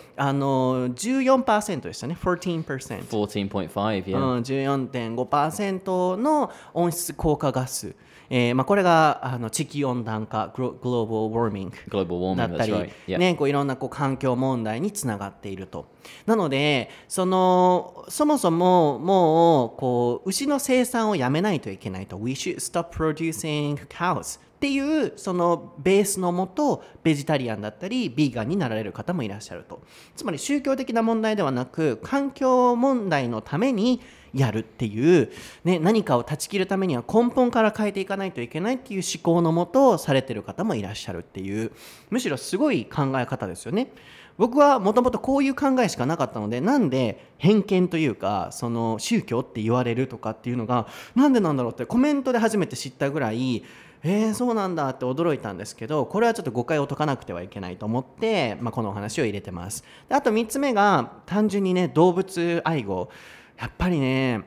14% でしたね。14%。 14.5, yeah. 14.5% の温室効果ガス。これが地球温暖化、グローバルウォーミング Global warming, だったり、 that's right. Yeah. ね、こういろんなこう環境問題につながっていると。なので、そもそももうこう牛の生産をやめないといけないと。We should stop producing cows。っていうそのベースのもとベジタリアンだったりビーガンになられる方もいらっしゃると。つまり宗教的な問題ではなく環境問題のためにやるっていう、ね、何かを断ち切るためには根本から変えていかないといけないっていう思考のもとされてる方もいらっしゃるっていう、むしろすごい考え方ですよね。僕はもともとこういう考えしかなかったので、なんで偏見というかその宗教って言われるとかっていうのがなんでなんだろうってコメントで初めて知ったぐらい、そうなんだって驚いたんですけど、これはちょっと誤解を解かなくてはいけないと思って、このお話を入れてます。で、あと3つ目が単純にね、動物愛護。やっぱりね、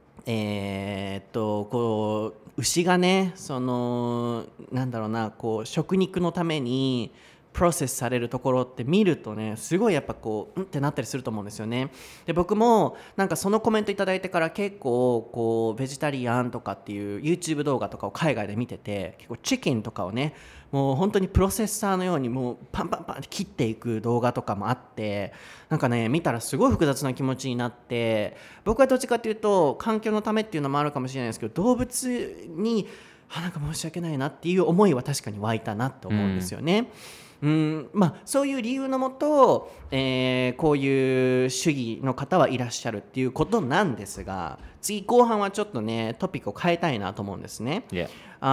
こう牛がね、そのなんだろうな、こう食肉のためにプロセスされるところって見るとね、すごいやっぱこうってなったりすると思うんですよね。で、僕もなんかそのコメントいただいてから結構こうベジタリアンとかっていう YouTube 動画とかを海外で見てて、結構チキンとかをね、もう本当にプロセッサーのようにもうパンパンパンって切っていく動画とかもあって、なんかね見たらすごい複雑な気持ちになって、僕はどっちかっていうと環境のためっていうのもあるかもしれないですけど、動物になんか申し訳ないなっていう思いは確かに湧いたなと思うんですよね。そういう理由のもと、こういう主義の方はいらっしゃるっていうことなんですが、次後半はちょっとねトピックを変えたいなと思うんですね。 Yeah.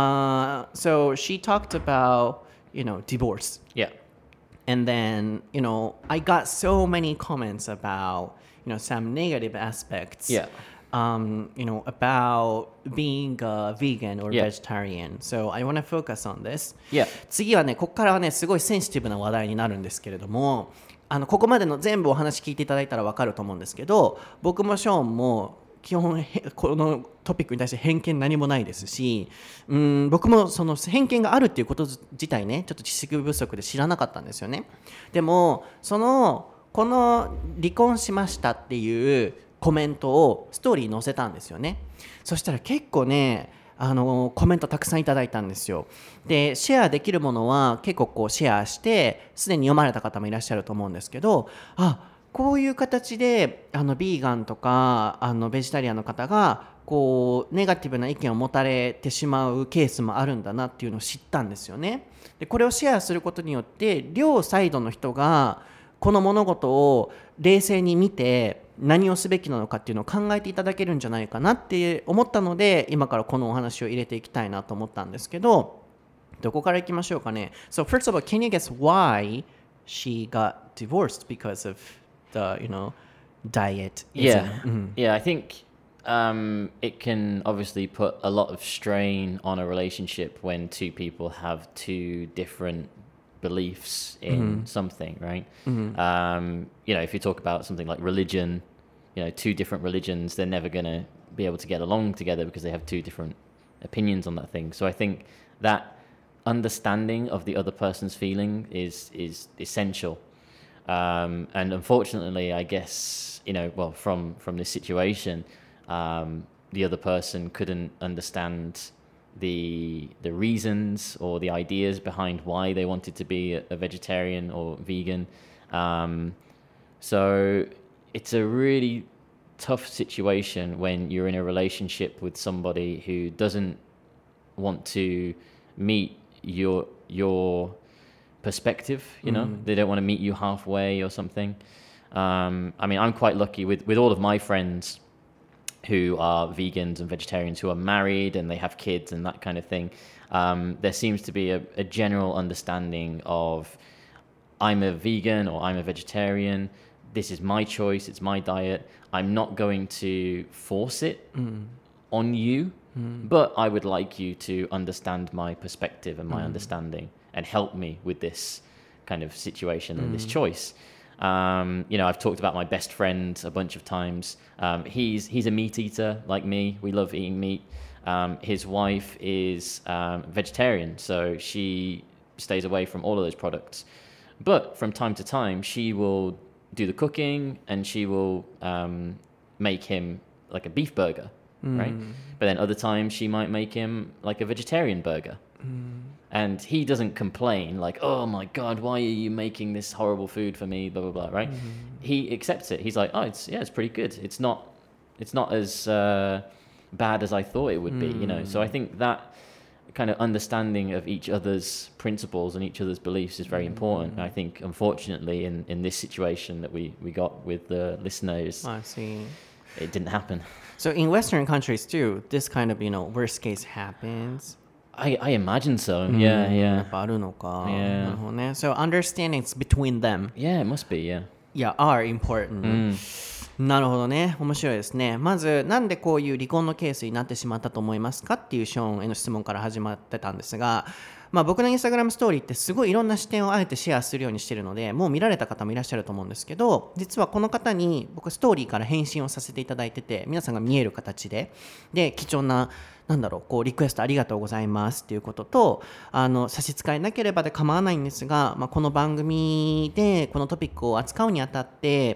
So she talked about, divorce. Yeah. And then, I got so many comments about, some negative aspects. Yeah. About being a vegan or Yeah. vegetarian. So I want to focus on this. Yeah. 次はね、ここからはね、すごいセンシティブな話題になるんですけれども、ここまでの全部お話聞いていただいたら分かると思うんですけど、僕もショーンも基本このトピックに対して偏見何もないですし、僕もその偏見があるっていうこと自体ね、ちょっと知識不足で知らなかったんですよね。でもこの離婚しましたっていうコメントをストーリーに載せたんですよね。そしたら結構ね、コメントたくさんいただいたんですよ。で、シェアできるものは結構こうシェアしてすでに読まれた方もいらっしゃると思うんですけど、こういう形でビーガンとかベジタリアンの方がこうネガティブな意見を持たれてしまうケースもあるんだなっていうのを知ったんですよね。で、これをシェアすることによって両サイドの人がこの物事を冷静に見て何をすべきなのかっていうのを考えていただけるんじゃないかなって思ったので、今からこのお話を入れていきたいなと思ったんですけど、どこからいきましょうかね。So first of all, can you guess why she got divorced because of the, diet? Yeah. Yeah, I think it can obviously put a lot of strain on a relationship when two people have two different beliefs in something, right? If you talk about something like religion, two different religions, they're never going to be able to get along together because they have two different opinions on that thing. So I think that understanding of the other person's feeling is essential. And unfortunately, I guess, well, from this situation, the other person couldn't understand the reasons or the ideas behind why they wanted to be a vegetarian or vegan. So it's a really tough situation when you're in a relationship with somebody who doesn't want to meet your perspective. They don't want to meet you halfway or something. I mean, I'm quite lucky with all of my friends who are vegans and vegetarians, who are married and they have kids and that kind of thing. There seems to be a general understanding of, I'm a vegan or I'm a vegetarian, this is my choice, it's my diet, I'm not going to force it on you, but I would like you to understand my perspective and my understanding and help me with this kind of situation and this choice. I've talked about my best friend a bunch of times. He's a meat eater like me. We love eating meat. His wife is vegetarian, so she stays away from all of those products. But from time to time, she will do the cooking and she will make him like a beef burger, right? But then other times she might make him like a vegetarian burger. And he doesn't complain like, oh my God, why are you making this horrible food for me, blah, blah, blah, right? He accepts it. He's like, oh, it's pretty good. It's not as bad as I thought it would be, So I think that kind of understanding of each other's principles and each other's beliefs is very important. And I think, unfortunately, in this situation that we got with the listeners, I see. It didn't happen. So in Western countries too, this kind of, worst case happens. I imagine so. Yeah. やっぱあるのか。 Yeah. なるほどね。So understandings between them, Yeah, it must be, yeah. are important. なるほどね。面白いですね。まず、なんでこういう離婚のケースになってしまったと思いますかっていうショーンへの質問から始まってたんですが、僕のインスタグラムストーリーってすごいいろんな視点をあえてシェアするようにしてるので、もう見られた方もいらっしゃると思うんですけど、実はこの方に僕ストーリーから返信をさせていただいてて、皆さんが見える形で、貴重なリクエストありがとうございますっていうことと、差し支えなければで構わないんですが、この番組でこのトピックを扱うにあたって、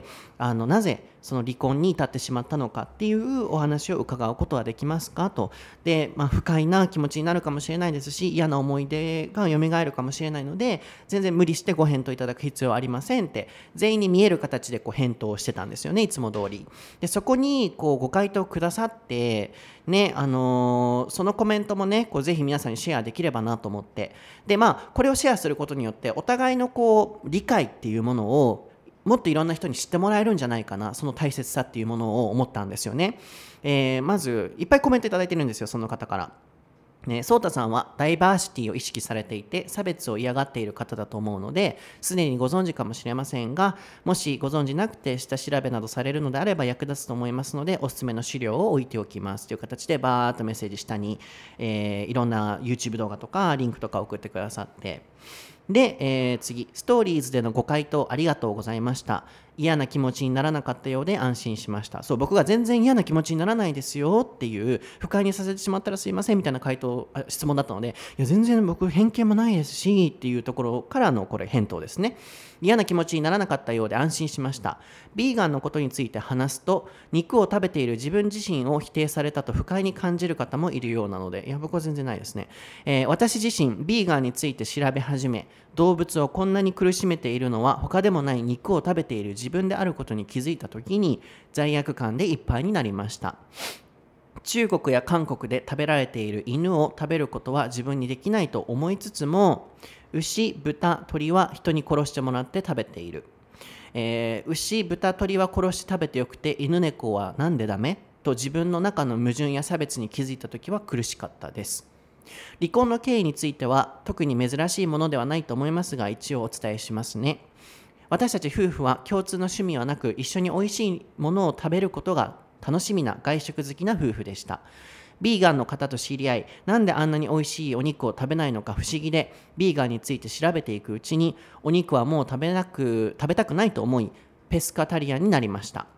なぜその離婚に至ってしまったのかっていうお話を伺うことはできますかと。で、不快な気持ちになるかもしれないですし、嫌な思い出が蘇るかもしれないので、全然無理してご返答いただく必要はありませんって全員に見える形で返答をしてたんですよね、いつも通り。で、そこにご回答くださってね、そのコメントもね、ぜひ皆さんにシェアできればなと思って、で、これをシェアすることによってお互いの理解っていうものをもっといろんな人に知ってもらえるんじゃないかな、その大切さっていうものを思ったんですよね。まずいっぱいコメントいただいてるんですよ、その方から。ソータさんはダイバーシティを意識されていて差別を嫌がっている方だと思うので、すでにご存知かもしれませんが、もしご存知なくて下調べなどされるのであれば役立つと思いますので、おすすめの資料を置いておきますという形でバーッとメッセージ下に、いろんな YouTube 動画とかリンクとか送ってくださって、で、次、ストーリーズでのご回答ありがとうございました。嫌な気持ちにならなかったようで安心しました。そう、僕が全然嫌な気持ちにならないですよっていう、不快にさせてしまったらすいませんみたいな質問だったので、いや全然僕偏見もないですしっていうところからのこれ返答ですね。嫌な気持ちにならなかったようで安心しました。ビーガンのことについて話すと、肉を食べている自分自身を否定されたと不快に感じる方もいるようなので、いや僕は全然ないですね。私自身ビーガンについて調べ始め、動物をこんなに苦しめているのは他でもない肉を食べている自分であることに気づいたときに罪悪感でいっぱいになりました。中国や韓国で食べられている犬を食べることは自分にできないと思いつつも、牛、豚、鳥は人に殺してもらって食べている。牛、豚、鳥は殺して食べてよくて犬猫はなんでダメと自分の中の矛盾や差別に気づいたときは苦しかったです。離婚の経緯については特に珍しいものではないと思いますが、一応お伝えしますね。私たち夫婦は共通の趣味はなく、一緒においしいものを食べることが楽しみな外食好きな夫婦でした。ビーガンの方と知り合い、なんであんなに美味しいお肉を食べないのか不思議で、ビーガンについて調べていくうちに、お肉はもう食べたくないと思い、ペスカタリアンになりました。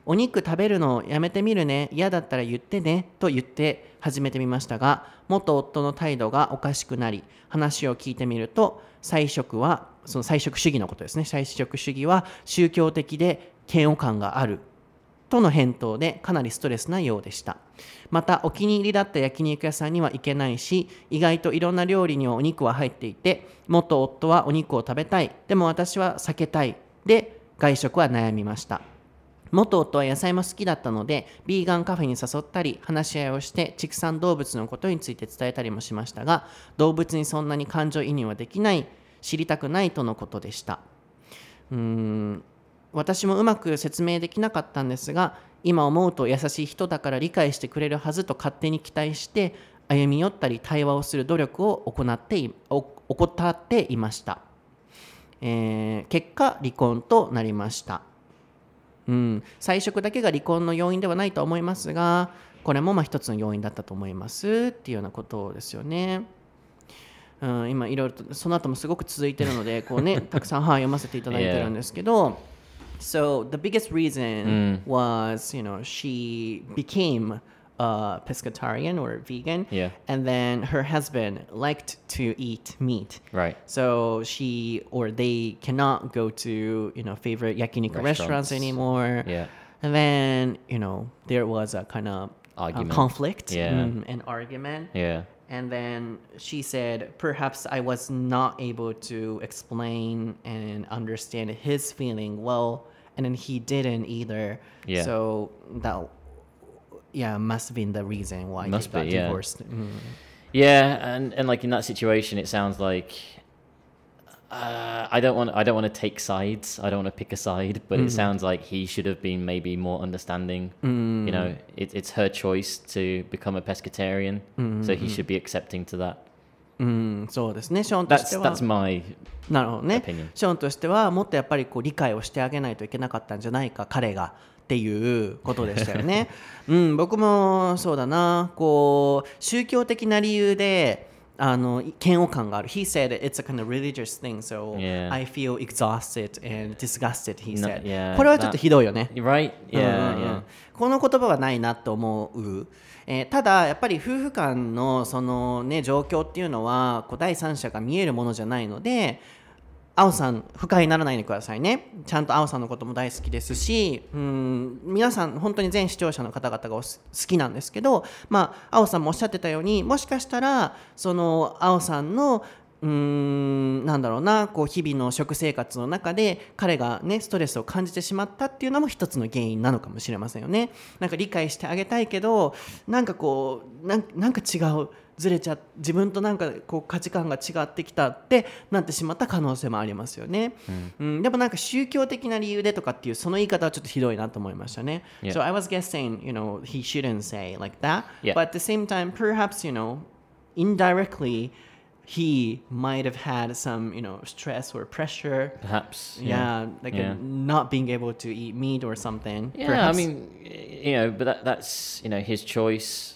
お肉食べるのやめてみるね、嫌だったら言ってねと言って始めてみましたが、元夫の態度がおかしくなり、話を聞いてみると、菜食はその菜食主義のことですね。菜食主義は宗教的で嫌悪感があるとの返答で、かなりストレスなようでした。またお気に入りだった焼肉屋さんには行けないし、意外といろんな料理にはお肉は入っていて、元夫はお肉を食べたい、でも私は避けたいで、外食は悩みました。元夫は野菜も好きだったので、ビーガンカフェに誘ったり、話し合いをして畜産動物のことについて伝えたりもしましたが、動物にそんなに感情移入はできない、知りたくないとのことでした。私もうまく説明できなかったんですが、今思うと優しい人だから理解してくれるはずと勝手に期待して歩み寄ったり対話をする努力を怠っていました。結果離婚となりました。菜食だけが離婚の要因ではないと思いますが、これも一つの要因だったと思いますっていうようなことですよね。今いろいろとその後もすごく続いているのでこう、ね、たくさん読ませていただいてるんですけど、So the biggest reason was, she became a pescatarian or vegan, and then her husband liked to eat meat. Right. So they cannot go to, favorite yakiniku restaurants anymore. Yeah. And then, there was a kind of conflict and argument. Yeah. And then she said, perhaps I was not able to explain and understand his feeling well, and then he didn't either. Yeah. So that, must have been the reason why they got divorced. Yeah, and like in that situation, it sounds like I don't want to take sides. I don't want to pick a side, but it sounds like he should have been maybe more understanding. It's her choice to become a pescatarian, so he should be accepting to that. そうですね。ショーンとしては That's my なるほどね。 opinion. ショーンとしてはもっとやっぱり理解をしてあげないといけなかったんじゃないか、彼がっていうことでしたよね。僕もそうだな。宗教的な理由で嫌悪感がある。He said it's a kind of religious thing, so I feel exhausted and disgusted, he said. これはちょっとひどいよね。 Right? Yeah. この言葉はないなと思う。ただやっぱり夫婦間のそのね状況っていうのは第三者が見えるものじゃないので、青さん不快にならないでくださいね。ちゃんと青さんのことも大好きですし、皆さん本当に全視聴者の方々が好きなんですけど、青さんもおっしゃってたように、もしかしたらその青さんのなんだろうな、日々の食生活の中で彼がねストレスを感じてしまったっていうのも一つの原因なのかもしれませんよね。なんか理解してあげたいけど、なんか違う、ずれちゃ自分となんか価値観が違ってきたってなってしまった可能性もありますよね。でもなんか宗教的な理由でとかっていうその言い方はちょっとひどいなと思いましたね。So I was guessing, he shouldn't say like that. But at the same time, perhaps, indirectly, he might have had some, stress or pressure. Perhaps. Not being able to eat meat or something. Yeah, perhaps. I mean, but that's, his choice.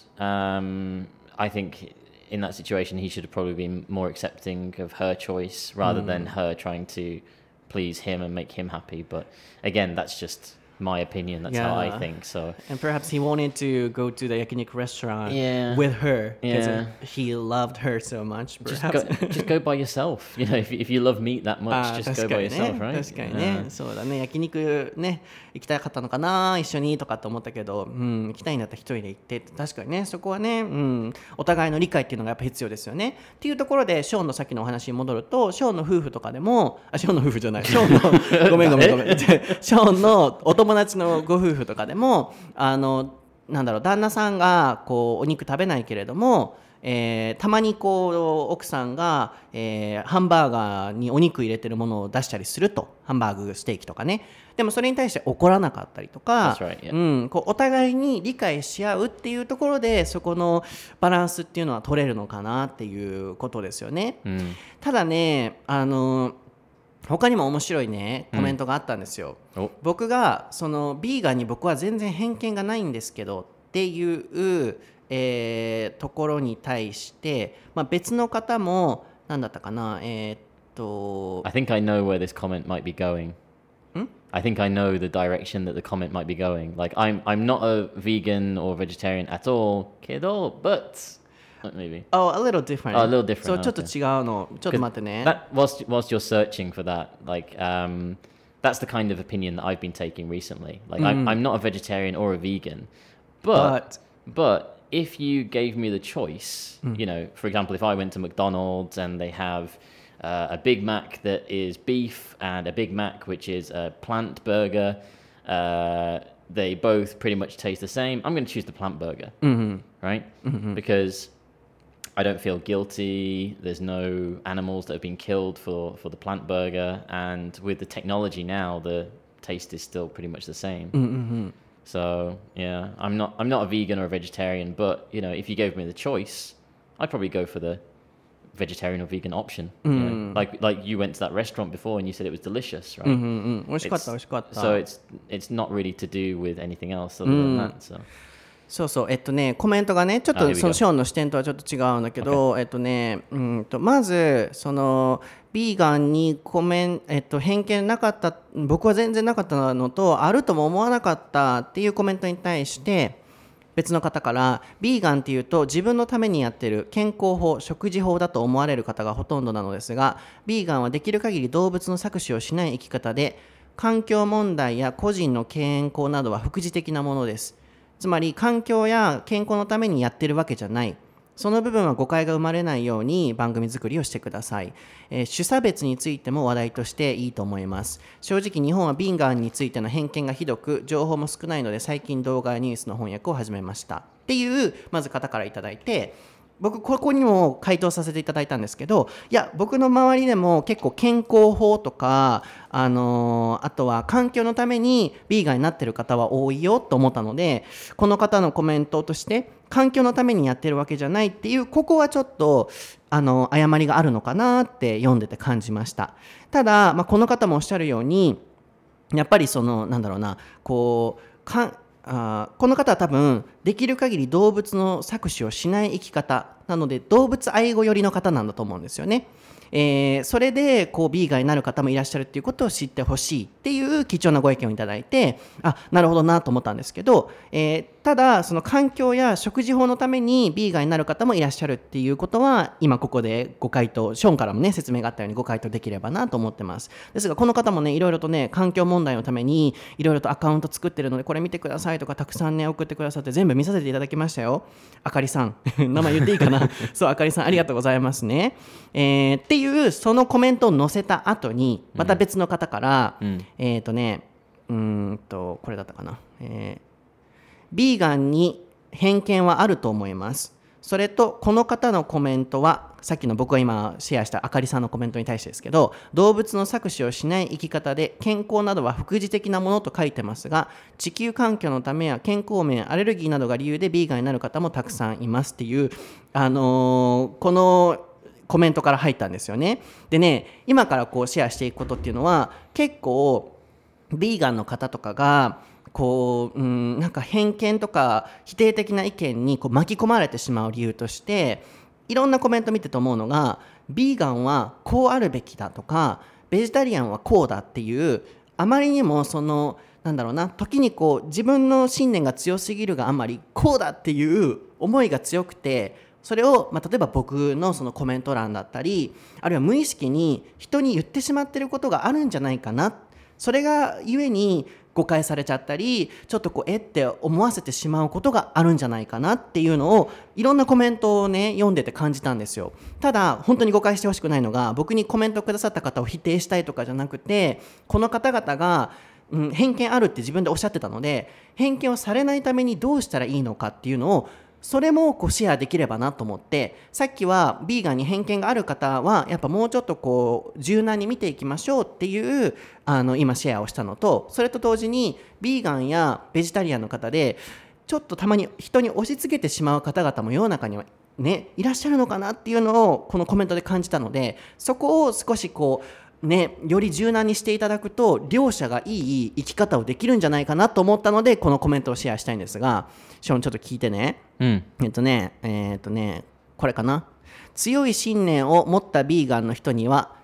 I think in that situation, he should have probably been more accepting of her choice rather than her trying to please him and make him happy. But again, that's just my opinion. That's how I think. So, and perhaps he wanted to go to the yakiniku restaurant with her because he loved her so much. Just go by yourself. If you love meat that much, just go by yourself, right? 確かにね。そうだね。焼肉ね行きたかったのかな、一緒にとかと思ったけど、行きたいんだったら一人で行って、確かにね、そこはね、お互いの理解っていうのがやっぱ必要ですよね。っていうところでショーンのさっきのお話に戻ると、ショーンの夫婦とかでも、ショーンの夫婦じゃない、ショーンのごめんショーンのお友達のご夫婦とかでもなんだろう、旦那さんがお肉食べないけれども、たまに奥さんが、ハンバーガーにお肉入れてるものを出したりすると、ハンバーグステーキとかね。でもそれに対して怒らなかったりとか、お互いに理解し合うっていうところでそこのバランスっていうのは取れるのかなっていうことですよね。ただね、他にも面白いねコメントがあったんですよ。僕がそのビーガンに僕は全然偏見がないんですけどっていうところに対して、別の方も何だったかな、 I think I know where this comment might be going. I think I know the direction that the comment might be going. Like I'm not a vegan or vegetarian at all, kiddo, but maybe. Oh, a little different. Oh, a little different. そう、ちょっと違うの。ちょっと待ってね。 That whilst you're searching for that, like that's the kind of opinion that I've been taking recently. Like I'm not a vegetarian or a vegan, but if you gave me the choice, you know, for example, if I went to McDonald's and they have a Big Mac that is beef and a Big Mac which is a plant burger, they both pretty much taste the same. I'm going to choose the plant burger, right? Because I don't feel guilty. There's no animals that have been killed for the plant burger, and with the technology now, the taste is still pretty much the same. So yeah, I'm not a vegan or a vegetarian, but you know, if you gave me the choice, I'd probably go for the vegetarian or vegan option. You know? Like you went to that restaurant before and you said it was delicious, right? 美味しかった、美味しかった。 So it's not really to do with anything else other than that. So. そうそう、コメントがね、ちょっとそのショーンの視点とはちょっと違うんだけど、まず、その、ビーガンに偏見なかった、僕は全然なかったのと、あるとも思わなかったっていうコメントに対して、別の方から、ビーガンっていうと自分のためにやってる健康法、食事法だと思われる方がほとんどなのですが、ビーガンはできる限り動物の搾取をしない生き方で、環境問題や個人の健康などは副次的なものです。つまり環境や健康のためにやってるわけじゃない。その部分は誤解が生まれないように番組作りをしてください。種差別についても話題としていいと思います。正直日本はビーガンについての偏見がひどく、情報も少ないので最近動画やニュースの翻訳を始めました。っていうまず方からいただいて、僕ここにも回答させていただいたんですけど、いや僕の周りでも結構健康法とか、あとは環境のためにビーガンになってる方は多いよと思ったので、この方のコメントとして環境のためにやってるわけじゃないっていう、ここはちょっと誤りがあるのかなって読んでて感じました。ただ、この方もおっしゃるように、やっぱりそのなんだろうな、この方は多分できる限り動物の搾取をしない生き方なので、動物愛護寄りの方なんだと思うんですよね。それでこうビーガンになる方もいらっしゃるっていうことを知ってほしいっていう貴重なご意見をいただいて、なるほどなと思ったんですけど、ただその環境や食事法のためにビーガンになる方もいらっしゃるっていうことは、今ここでご回答、ショーンからもね説明があったようにご回答できればなと思ってます。ですがこの方もね、いろいろとね、環境問題のためにいろいろとアカウント作ってるので、これ見てくださいとかたくさんね送ってくださって、全部見させていただきましたよ。あかりさん名前言っていいかなそう、あかりさんありがとうございますね。っていうそのコメントを載せた後に、また別の方から、これだったかな、ビーガンに偏見はあると思います。それとこの方のコメントは、さっきの僕が今シェアしたあかりさんのコメントに対してですけど、動物の搾取をしない生き方で健康などは副次的なものと書いてますが、地球環境のためや健康面、アレルギーなどが理由でビーガンになる方もたくさんいますっていう、このコメントから入ったんですよね。でね、今からこうシェアしていくことっていうのは、結構ビーガンの方とかがこう、なんか偏見とか否定的な意見にこう巻き込まれてしまう理由として、いろんなコメント見てと思うのが、ビーガンはこうあるべきだとか、ベジタリアンはこうだっていう、あまりにもそのなんだろうな、時にこう自分の信念が強すぎるがあまり、こうだっていう思いが強くて、それを、例えば僕のそのコメント欄だったり、あるいは無意識に人に言ってしまっていることがあるんじゃないかな、それがゆえに誤解されちゃったり、ちょっとこうって思わせてしまうことがあるんじゃないかなっていうのを、いろんなコメントをね読んでて感じたんですよ。ただ本当に誤解してほしくないのが、僕にコメントくださった方を否定したいとかじゃなくて、この方々が偏見あるって自分でおっしゃってたので、偏見をされないためにどうしたらいいのかっていうのを、それもこうシェアできればなと思って、さっきはビーガンに偏見がある方はやっぱもうちょっとこう柔軟に見ていきましょうっていう今シェアをしたのと、それと同時にビーガンやベジタリアンの方でちょっとたまに人に押し付けてしまう方々も世の中にはねいらっしゃるのかなっていうのをこのコメントで感じたので、そこを少しこうより柔軟にしていただくと、両者がいい生き方をできるんじゃないかなと思ったので、このコメントをシェアしたいんですが、ショーンちょっと聞いてね。これかな。強い信念を持ったビーガンの人には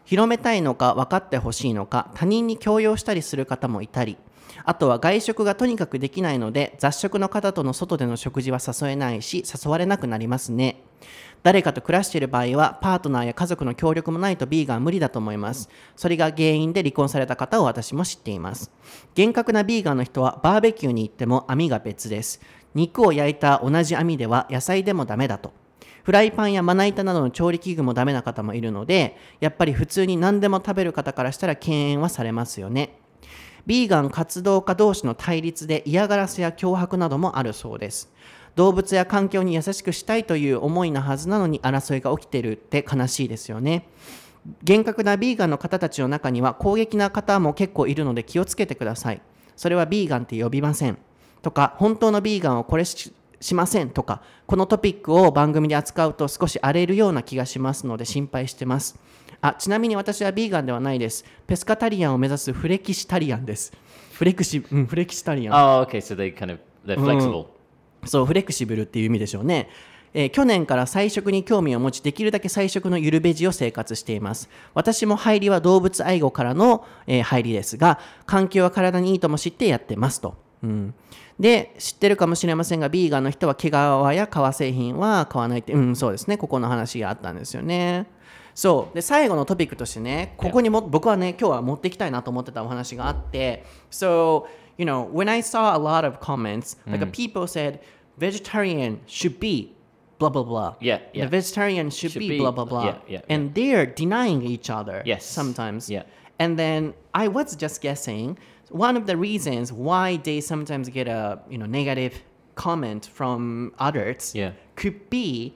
広めたいのか分かってほしいのか他人に強要したりする方もいたり、あとは外食がとにかくできないので雑食の方との外での食事は誘えないし誘われなくなりますね。誰かと暮らしている場合はパートナーや家族の協力もないとビーガンは無理だと思います。それが原因で離婚された方を私も知っています。厳格なビーガンの人はバーベキューに行っても網が別です。肉を焼いた同じ網では野菜でもダメだと。フライパンやまな板などの調理器具もダメな方もいるので、やっぱり普通に何でも食べる方からしたら敬遠はされますよね。ビーガン活動家同士の対立で嫌がらせや脅迫などもあるそうです。動物や環境に優しくしたいという思いなはずなのに争いが起きているって悲しいですよね。厳格なビーガンの方たちの中には攻撃な方も結構いるので気をつけてください。それはビーガンって呼びませんとか、本当のビーガンはこれしませんとか、このトピックを番組で扱うと少し荒れるような気がしますので心配してます。ちなみに私はビーガンではないです。ペスカタリアンを目指すフレキシタリアンです。フレキシタリアン。 Oh, okay. So they're flexible. そう、フレキシブルっていう意味でしょうね。去年から菜食に興味を持ち、できるだけ菜食のゆるベジを生活しています。私も入りは動物愛護からの、入りですが、環境は体にいいとも知ってやってますと。で、知ってるかもしれませんが、ビーガンの人は毛皮や革製品は買わないって、そうですね、ここの話があったんですよね。そうで、最後のトピックとしてね、ここにも僕はね今日は持ってきたいなと思ってたお話があって、 So when I saw a lot of comments, like people said vegetarian should be blah blah blah. Yeah. The vegetarian should be blah blah blah. Yeah. And they're denying each other Yes. sometimes. Yeah. And then I was just guessing one of the reasons why they sometimes get a negative comment from others could be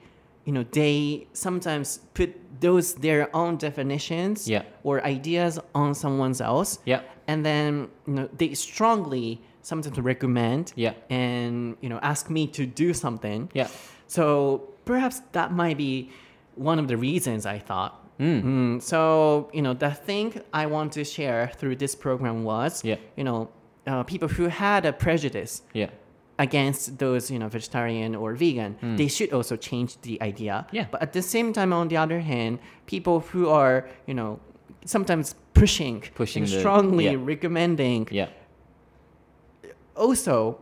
they sometimes put those their own definitions or ideas on someone else, and then they strongly sometimes recommend and ask me to do something. So perhaps that might be one of the reasons I thought. So the thing I want to share through this program was people who had a prejudice against those vegetarian or vegan, they should also change the idea. But at the same time, on the other hand, people who are sometimes pushing and strongly recommending also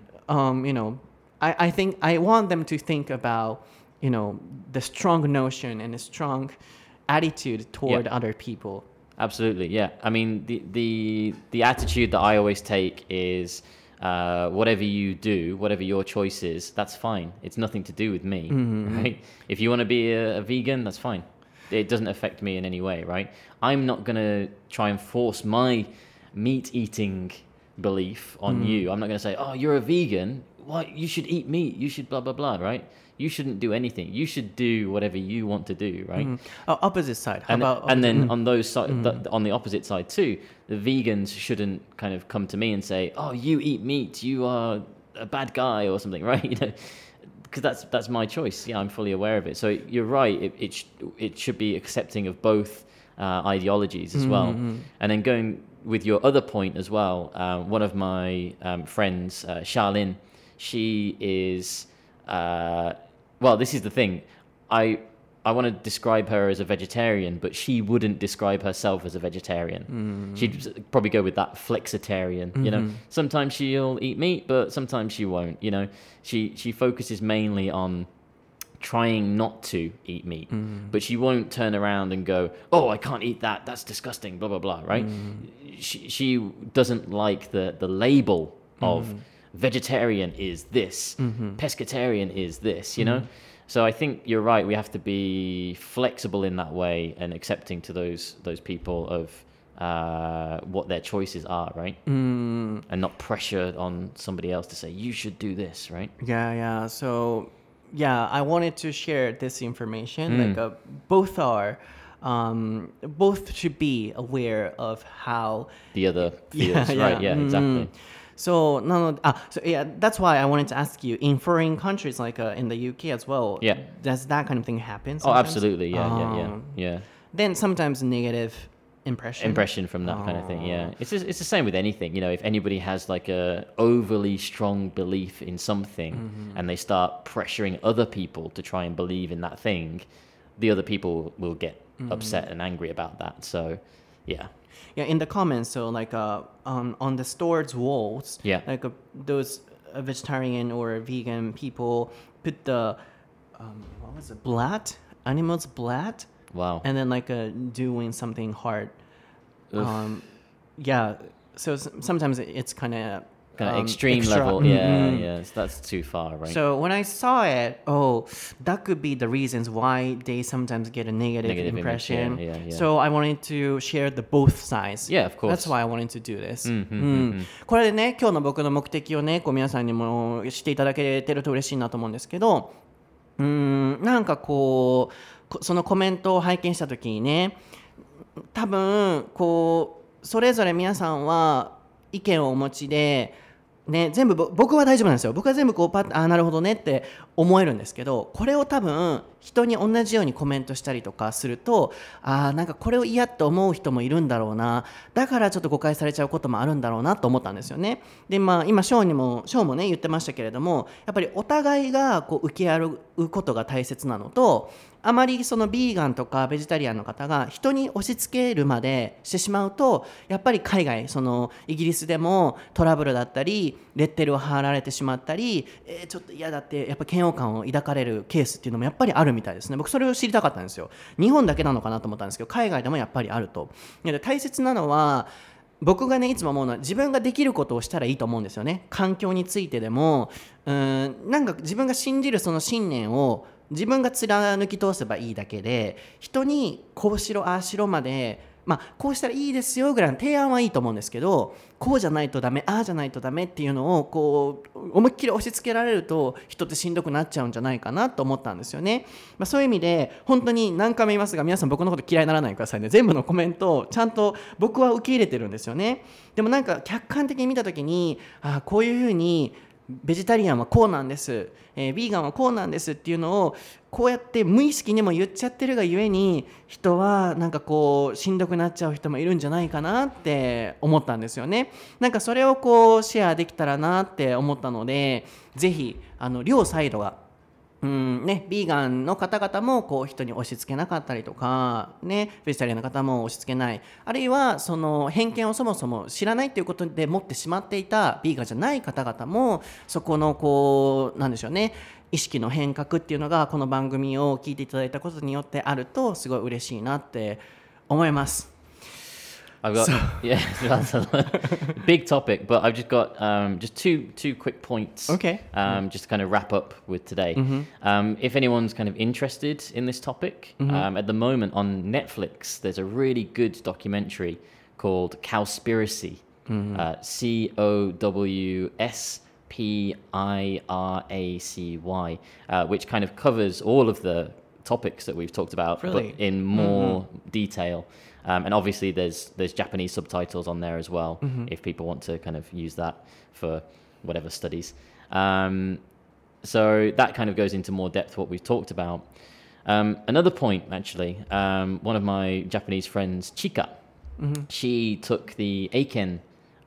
I think I want them to think about the strong notion and the strong attitude toward other people. Absolutely, yeah. I mean, the attitude that I always take is whatever you do, whatever your choice is, that's fine. It's nothing to do with me, right? If you want to be a vegan, that's fine. It doesn't affect me in any way, right? I'm not going to try and force my meat-eating belief on you. I'm not going to say, oh, you're a vegan, what? You should eat meat, you should blah, blah, blah, right? You shouldn't do anything. You should do whatever you want to do, right? Opposite side. On the opposite side too, the vegans shouldn't kind of come to me and say, "Oh, you eat meat, you are a bad guy" or something, right? Because that's my choice. Yeah, I'm fully aware of it. So you're right. It should be accepting of both ideologies as well. And then going with your other point as well, one of my friends, Charlene, she is. Well, this is the thing. I want to describe her as a vegetarian, but she wouldn't describe herself as a vegetarian. She'd probably go with that flexitarian. Sometimes she'll eat meat, but sometimes she won't. She focuses mainly on trying not to eat meat, but she won't turn around and go, "Oh, I can't eat that. That's disgusting." Blah blah blah. Right? She doesn't like the label of vegetarian is this, pescatarian is this, So I think you're right. We have to be flexible in that way and accepting to those people of what their choices are, right? And not pressure on somebody else to say you should do this, right? Yeah. So I wanted to share this information. Like both should be aware of how the other feels, right? Yeah, exactly. So that's why I wanted to ask you, in foreign countries like in the UK as well, does that kind of thing happen sometimes? Oh, absolutely, yeah. Then sometimes negative impression from that kind of thing, yeah. It's the same with anything, if anybody has like a overly strong belief in something and they start pressuring other people to try and believe in that thing, the other people will get upset and angry about that. So, yeah. Yeah, in the comments, so like on the store's walls, Yeah. like those vegetarian or vegan people put the what was it, blood, animals' blood, Wow. and then like doing something hard. Oof. Yeah, so sometimes it's kind of extreme extra. level. Yeah. So that's too far, right? So when I saw it, that could be the reasons why they sometimes get a negative Negative image, impression. yeah. So I wanted to share the both sides. Yeah, of course. That's why I wanted to do this. これでね、今日の僕の目的をね、こう皆さんにもしていただけてると嬉しいなと思うんですけど、なんかこうそのコメントを拝見した時にね、多分こうそれぞれ皆さんは意見をお持ちで。ね、全部僕は大丈夫なんですよ。僕は全部こうパッとなるほどねって思えるんですけど、これを多分人に同じようにコメントしたりとかすると、なんかこれを嫌って思う人もいるんだろうな、だからちょっと誤解されちゃうこともあるんだろうなと思ったんですよね。で今ショーもね言ってましたけれども、やっぱりお互いがこう受け合うことが大切なのと、あまりそのビーガンとかベジタリアンの方が人に押し付けるまでしてしまうと、やっぱり海外そのイギリスでもトラブルだったりレッテルを貼られてしまったり、ちょっと嫌だってやっぱ嫌悪感を抱かれるケースっていうのもやっぱりあるみたいですね。僕それを知りたかったんですよ。日本だけなのかなと思ったんですけど、海外でもやっぱりあると。で大切なのは僕がねいつも思うのは、自分ができることをしたらいいと思うんですよね。環境についてでもなんか自分が信じるその信念を自分が貫き通せばいいだけで、人にこうしろああしろまで、こうしたらいいですよぐらいの提案はいいと思うんですけど、こうじゃないとダメ、ああじゃないとダメっていうのをこう思いっきり押し付けられると人ってしんどくなっちゃうんじゃないかなと思ったんですよね。そういう意味で本当に何回も言いますが、皆さん僕のこと嫌いにならないでくださいね。全部のコメントをちゃんと僕は受け入れてるんですよね。でもなんか客観的に見た時に、こういうふうにベジタリアンはこうなんです、ビーガンはこうなんですっていうのをこうやって無意識にも言っちゃってるがゆえに、人はなんかこうしんどくなっちゃう人もいるんじゃないかなって思ったんですよね。なんかそれをこうシェアできたらなって思ったので、ぜひ両サイドがビーガンの方々もこう人に押し付けなかったりとか、ベジタリアンの方も押し付けない、あるいはその偏見をそもそも知らないということで持ってしまっていたビーガンじゃない方々も、そこのこうなんでしょうね、意識の変革っていうのがこの番組を聞いていただいたことによってあるとすごい嬉しいなって思います。 I've got that's a big topic, but I've just got just two quick points. Okay. Just to kind of wrap up with today. If anyone's kind of interested in this topic, at the moment on Netflix, there's a really good documentary called Cowspiracy. COWSPIRACY, which kind of covers all of the topics that we've talked about, really? But in more detail. And obviously there's Japanese subtitles on there as well, if people want to kind of use that for whatever studies. So that kind of goes into more depth what we've talked about. Another point, actually, one of my Japanese friends, Chika, she took the Eiken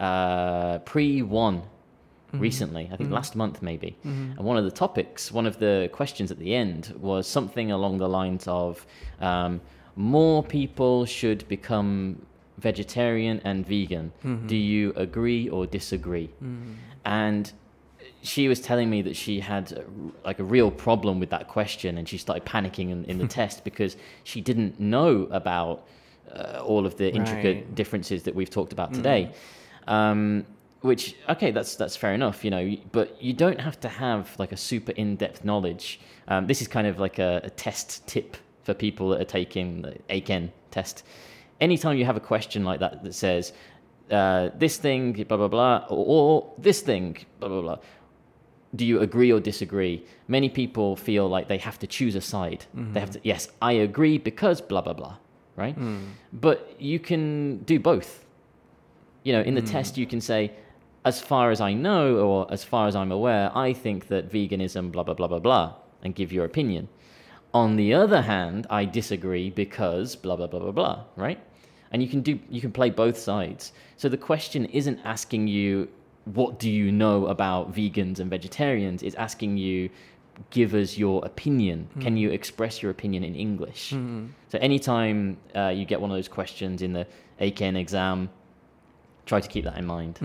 pre-1 recently, I think last month maybe. And one of the questions at the end was something along the lines of more people should become vegetarian and vegan. Do you agree or disagree? And she was telling me that she had a real problem with that question, and she started panicking in the test because she didn't know about all of the intricate differences that we've talked about today. Which, okay, that's fair enough, but you don't have to have like a super in-depth knowledge. This is kind of like a test tip for people that are taking the Eiken test. Anytime you have a question like that says, this thing, blah, blah, blah, or this thing, blah, blah, blah, do you agree or disagree? Many people feel like they have to choose a side. They have to, yes, I agree because blah, blah, blah, right? But you can do both. In the test you can say, as far as I know, or as far as I'm aware, I think that veganism, blah, blah, blah, blah, blah, and give your opinion. On the other hand, I disagree because blah, blah, blah, blah, blah, right? And you can play both sides. So the question isn't asking you, what do you know about vegans and vegetarians? It's asking you, give us your opinion. Can you express your opinion in English? So anytime you get one of those questions in the AKN exam, try to keep that in mind.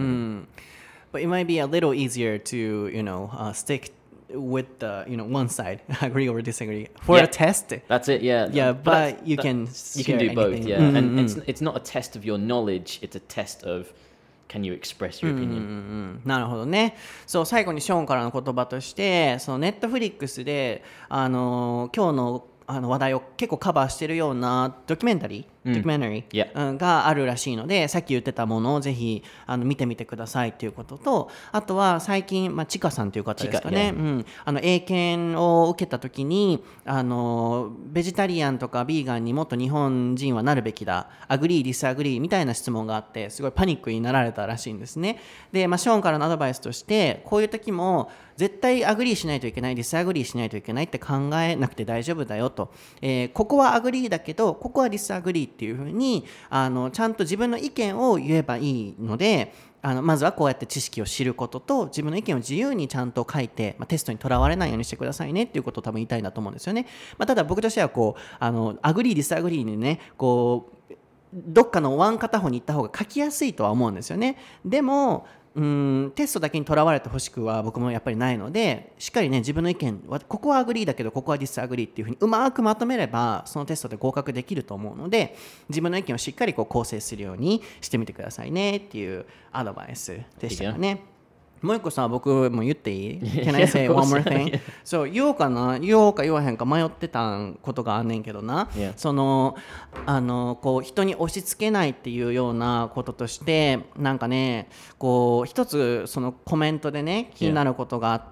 But it might be a little easier to, stick with the, one side, agree or disagree for a test. That's it, yeah. Yeah, but you can do both, anything. yeah. And it's not a test of your knowledge, it's a test of can you express your opinion. なるほどね。そう最後にショーンからの言葉として、そのネットフリックスで今日の話題を結構カバーしてるようなドキュメンタリー、があるらしいので、さっき言ってたものをぜひ見てみてくださいということと、あとは最近、ちかさんという方ですかね、英検を受けた時にベジタリアンとかビーガンにもっと日本人はなるべきだ、アグリーディスアグリーみたいな質問があって、すごいパニックになられたらしいんですね。で、ショーンからのアドバイスとして、こういう時も絶対アグリーしないといけない、ディスアグリーしないといけないって考えなくて大丈夫だよと、ここはアグリーだけどここはディスアグリーっていうふうにちゃんと自分の意見を言えばいいので、まずはこうやって知識を知ることと、自分の意見を自由にちゃんと書いて、テストにとらわれないようにしてくださいねっていうことを多分言いたいなと思うんですよね。ただ僕としてはこうアグリーディスアグリーにね、こうどっかのワン片方に行った方が書きやすいとは思うんですよね。でもテストだけにとらわれてほしくは僕もやっぱりないので、しっかりね自分の意見はここはアグリーだけどここはディスアグリーっていうふうにうまくまとめればそのテストで合格できると思うので、自分の意見をしっかりこう構成するようにしてみてくださいねっていうアドバイスでしたかね。もう一個さ、僕も言っていい？ Can I say one more thing? そう、言おうか言わへんか迷ってたことがあんねんけどな、そのこう人に押し付けないっていうようなこととして、なんかね、こう一つそのコメントでね気になることがあって、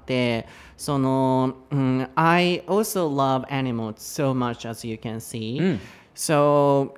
その、I also love animals so much as you can see. So,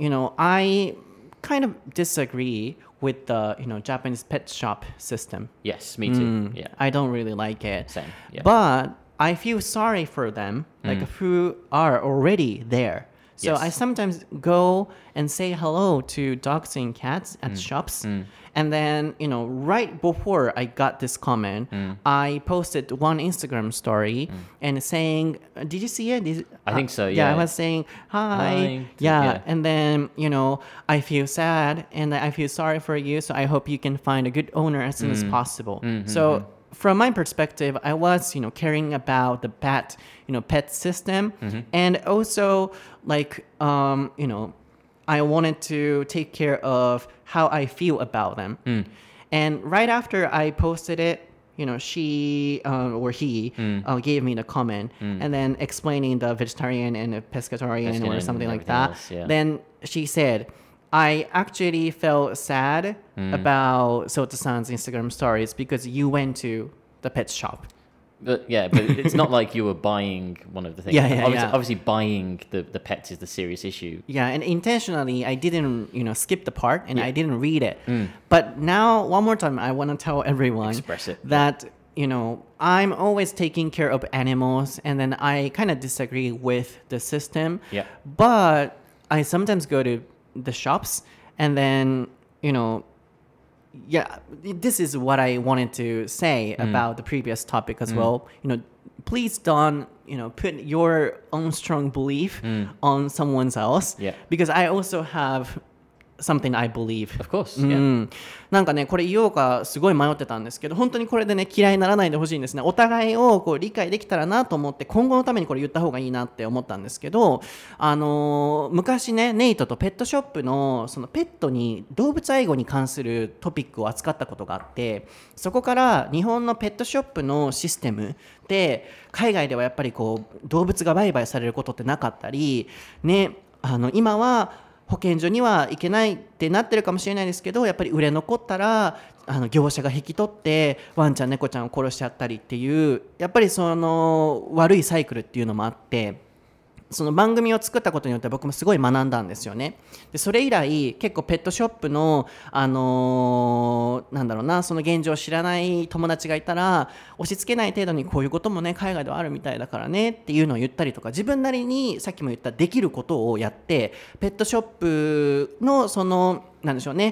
I kind of disagree with the Japanese pet shop system. Yes, me too. Yeah, I don't really like it. Same. Yeah. But I feel sorry for them, like who are already there. So Yes. I sometimes go and say hello to dogs and cats at shops. And then, right before I got this comment, I posted one Instagram story and saying, did you see it? I think so, Yeah, yeah. I was saying, hi. Hi. Yeah. Yeah. And then, I feel sad and I feel sorry for you. So I hope you can find a good owner as soon as possible. So from my perspective, I was, caring about the pet system. And also, like, I wanted to take care of how I feel about them. And right after I posted it, she or he gave me the comment and then explaining the vegetarian and the pescatarian or something like that. Else, yeah. Then she said, I actually felt sad about Sota-san's Instagram stories because you went to the pet shop. But it's not like you were buying one of the things. Obviously buying the pets is the serious issue. Yeah, and intentionally I didn't, skip the part and I didn't read it. But now, one more time, I want to tell everyone Express it. that, I'm always taking care of animals and then I kind of disagree with the system. Yeah. But I sometimes go to the shops and then, this is what I wanted to say about the previous topic as well. Please don't, put your own strong belief on someone else. Yeah. Because I also have something I believe. Of course. Yeah. なんかね、これ言おうかすごい迷ってたんですけど、本当にこれでね嫌いにならないでほしいんですね。お互いをこう理解できたらなと思って、今後のためにこれ言った方がいいなって思ったんですけど、昔ねネイトとペットショップのそのペットに動物愛護に関するトピックを扱ったことがあって、そこから日本のペットショップのシステムで海外ではやっぱりこう動物が売買されることってなかったりね、今は保健所には行けないってなってるかもしれないですけど、やっぱり売れ残ったら業者が引き取ってワンちゃん猫ちゃんを殺しちゃったりっていう、やっぱりその悪いサイクルっていうのもあって、その番組を作ったことによって僕もすごい学んだんですよね。でそれ以来結構ペットショップのなんだろうな、その現状を知らない友達がいたら、押し付けない程度にこういうこともね海外ではあるみたいだからねっていうのを言ったりとか、自分なりにさっきも言ったできることをやって、ペットショップのそのなんでしょうね、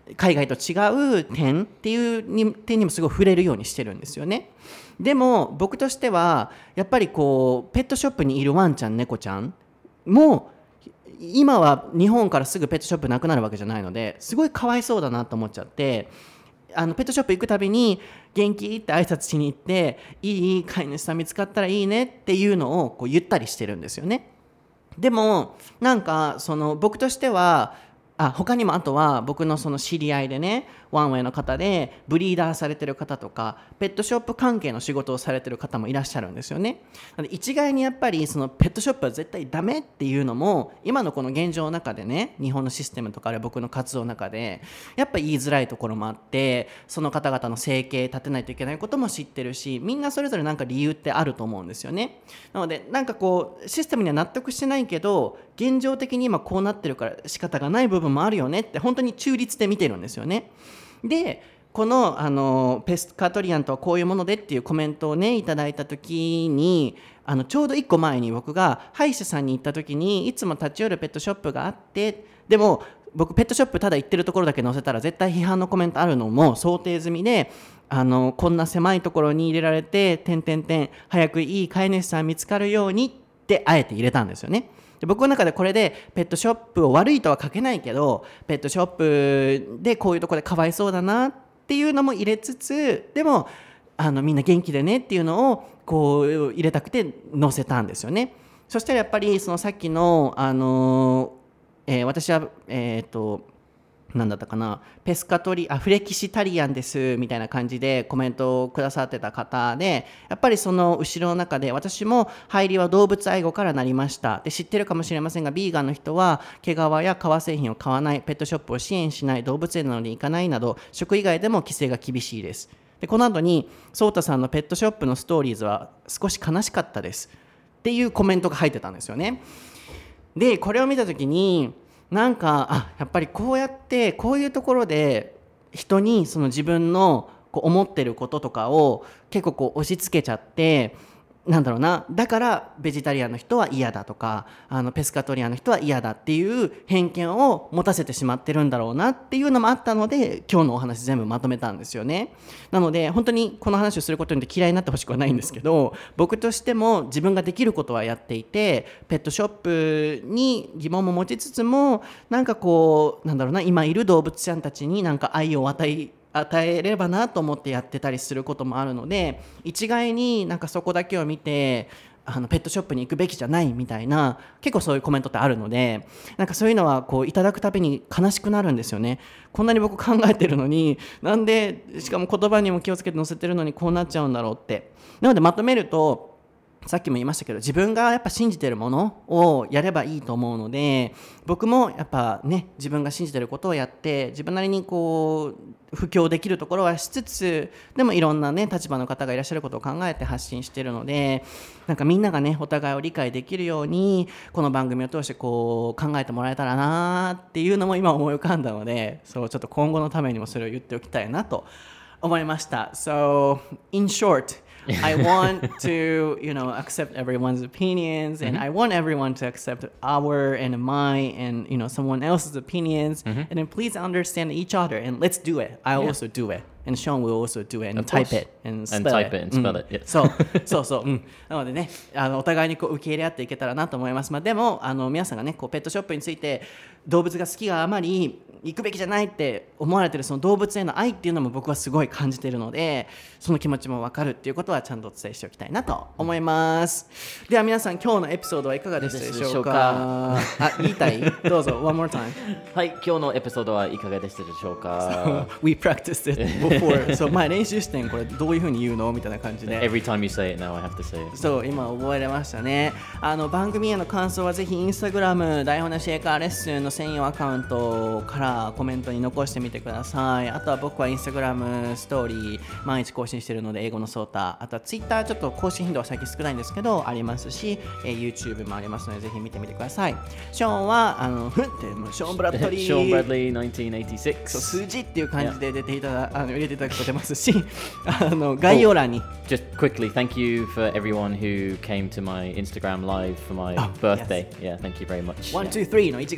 海外と違う点っていう点にもすごい触れるようにしてるんですよね。でも僕としてはやっぱりこうペットショップにいるワンちゃん猫ちゃんも今は日本からすぐペットショップなくなるわけじゃないのですごいかわいそうだなと思っちゃって、ペットショップ行くたびに元気って挨拶しに行っていい飼い主さん見つかったらいいねっていうのをこう言ったりしてるんですよね。でもなんかその僕としては他にもあとは僕のその知り合いでねワンウェイの方でブリーダーされてる方とかペットショップ関係の仕事をされてる方もいらっしゃるんですよね。なので一概にやっぱりそのペットショップは絶対ダメっていうのも今のこの現状の中でね日本のシステムとかで僕の活動の中でやっぱ言いづらいところもあってその方々の生計立てないといけないことも知ってるしみんなそれぞれなんか理由ってあると思うんですよね。なのでなんかこうシステムには納得してないけど現状的に今こうなってるから仕方がない部分もあるよねって本当に中立で見てるんですよね。でこの、ペスカトリアンとはこういうものでっていうコメントをねいただいた時にちょうど1個前に僕が歯医者さんに行った時にいつも立ち寄るペットショップがあってでも僕ペットショップただ行ってるところだけ載せたら絶対批判のコメントあるのも想定済みでこんな狭いところに入れられて早くいい飼い主さん見つかるようにってあえて入れたんですよね。で僕の中でこれでペットショップを悪いとは書けないけどペットショップでこういうところでかわいそうだなっていうのも入れつつでもみんな元気でねっていうのをこう入れたくて載せたんですよね。そしたらやっぱりそのさっきの、私は何だったかなフレキシタリアンですみたいな感じでコメントをくださってた方でやっぱりその後ろの中で私も入りは動物愛護からなりましたで知ってるかもしれませんがビーガンの人は毛皮や革製品を買わないペットショップを支援しない動物園などに行かないなど食以外でも規制が厳しいです。でこの後にソータさんのペットショップのストーリーズは少し悲しかったですっていうコメントが入ってたんですよね。でこれを見た時になんかやっぱりこうやってこういうところで人にその自分のこう思ってることとかを結構こう押し付けちゃってなんだろうなだからベジタリアンの人は嫌だとかペスカトリアンの人は嫌だっていう偏見を持たせてしまってるんだろうなっていうのもあったので今日のお話全部まとめたんですよね。なので本当にこの話をすることによって嫌いになってほしくはないんですけど僕としても自分ができることはやっていてペットショップに疑問も持ちつつもなんかこうなんだろうな今いる動物ちゃんたちになんか愛を与えればなと思ってやってたりすることもあるので一概になんかそこだけを見てペットショップに行くべきじゃないみたいな結構そういうコメントってあるのでなんかそういうのはこういただくたびに悲しくなるんですよね。こんなに僕考えてるのになんでしかも言葉にも気をつけて載せてるのにこうなっちゃうんだろうって。なのでまとめるとさっきも言いましたけど自分がやっぱ信じてるものをやればいいと思うので僕もやっぱね自分が信じてることをやって自分なりにこう布教できるところはしつつでもいろんなね立場の方がいらっしゃることを考えて発信してるのでなんかみんながねお互いを理解できるようにこの番組を通してこう考えてもらえたらなっていうのも今思い浮かんだのでそうちょっと今後のためにもそれを言っておきたいなと思いました。So in short I want to, accept everyone's opinions, and I want everyone to accept our and my and, someone else's opinions, and then please understand each other, and let's do it. I'll also do it, and Sean will also do it, and type it, and spell it. Yeah. そう、なのでね、お互いにこう受け入れ合っていけたらなと思います。でも、皆さんがね、こうペットショップについて動物が好きがあまり行くべきじゃないって思われてるその動物への愛っていうのも僕はすごい感じているのでその気持ちも分かるっていうことはちゃんとお伝えしておきたいなと思います。では皆さん今日のエピソードはいかがでしたでしょうか。言いたいどうぞ one more time はい、今日のエピソードはいかがでしたでしょうか。 We practiced it before そう前練習してんこれどういう風に言うのみたいな感じで Every time you say it now I have to say it そう今覚えれましたね。番組への感想はぜひインスタグラム台本なし英会話レッスンの専用アカウントからコメントに残してみてください。あとは僕はインスタグラムストーリー毎日更新しているので英語のソータあとはツイッターちょっと更新頻度は最近少ないんですけどありますし、YouTube もありますのでぜひ見てみてください。ショーンはショーン・ブラッドリーショーン・ブラッドリー1986 そう数字っていう感じで入れていただくと出ますし概要欄に Just quickly, thank you for everyone who came to my Instagram live for my birthday. Yes. Yeah, thank you very much. 1, 2, 3の1月23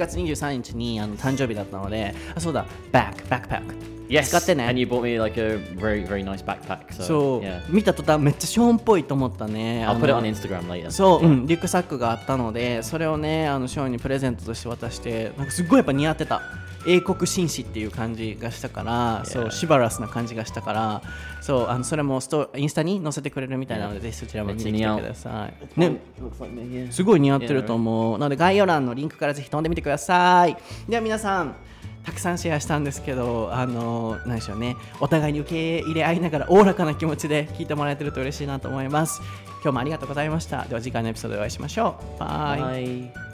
23日に誕生日だったので、そうだ、バックパック Yes, 使ってね。 and you bought me like a very, very nice backpack. そう、 yeah. 見た途端めっちゃショーンっぽいと思ったね。 I'll put it on Instagram later. そう、リュックサックがあったので、それをねショーンにプレゼントとして渡して、なんかすっごいやっぱ似合ってた。英国紳士っていう感じがしたから、そうシバラスな感じがしたから、そうそれもインスタに載せてくれるみたいなので、ぜひそちらも見てきてください。ね、すごい似合ってると思う。なので概要欄のリンクからぜひ飛んでみてください。では皆さん、たくさんシェアしたんですけど、何でしょうね、お互いに受け入れ合いながらおおらかな気持ちで聞いてもらえてると嬉しいなと思います。今日もありがとうございました。では次回のエピソードでお会いしましょう。バイ。 Bye.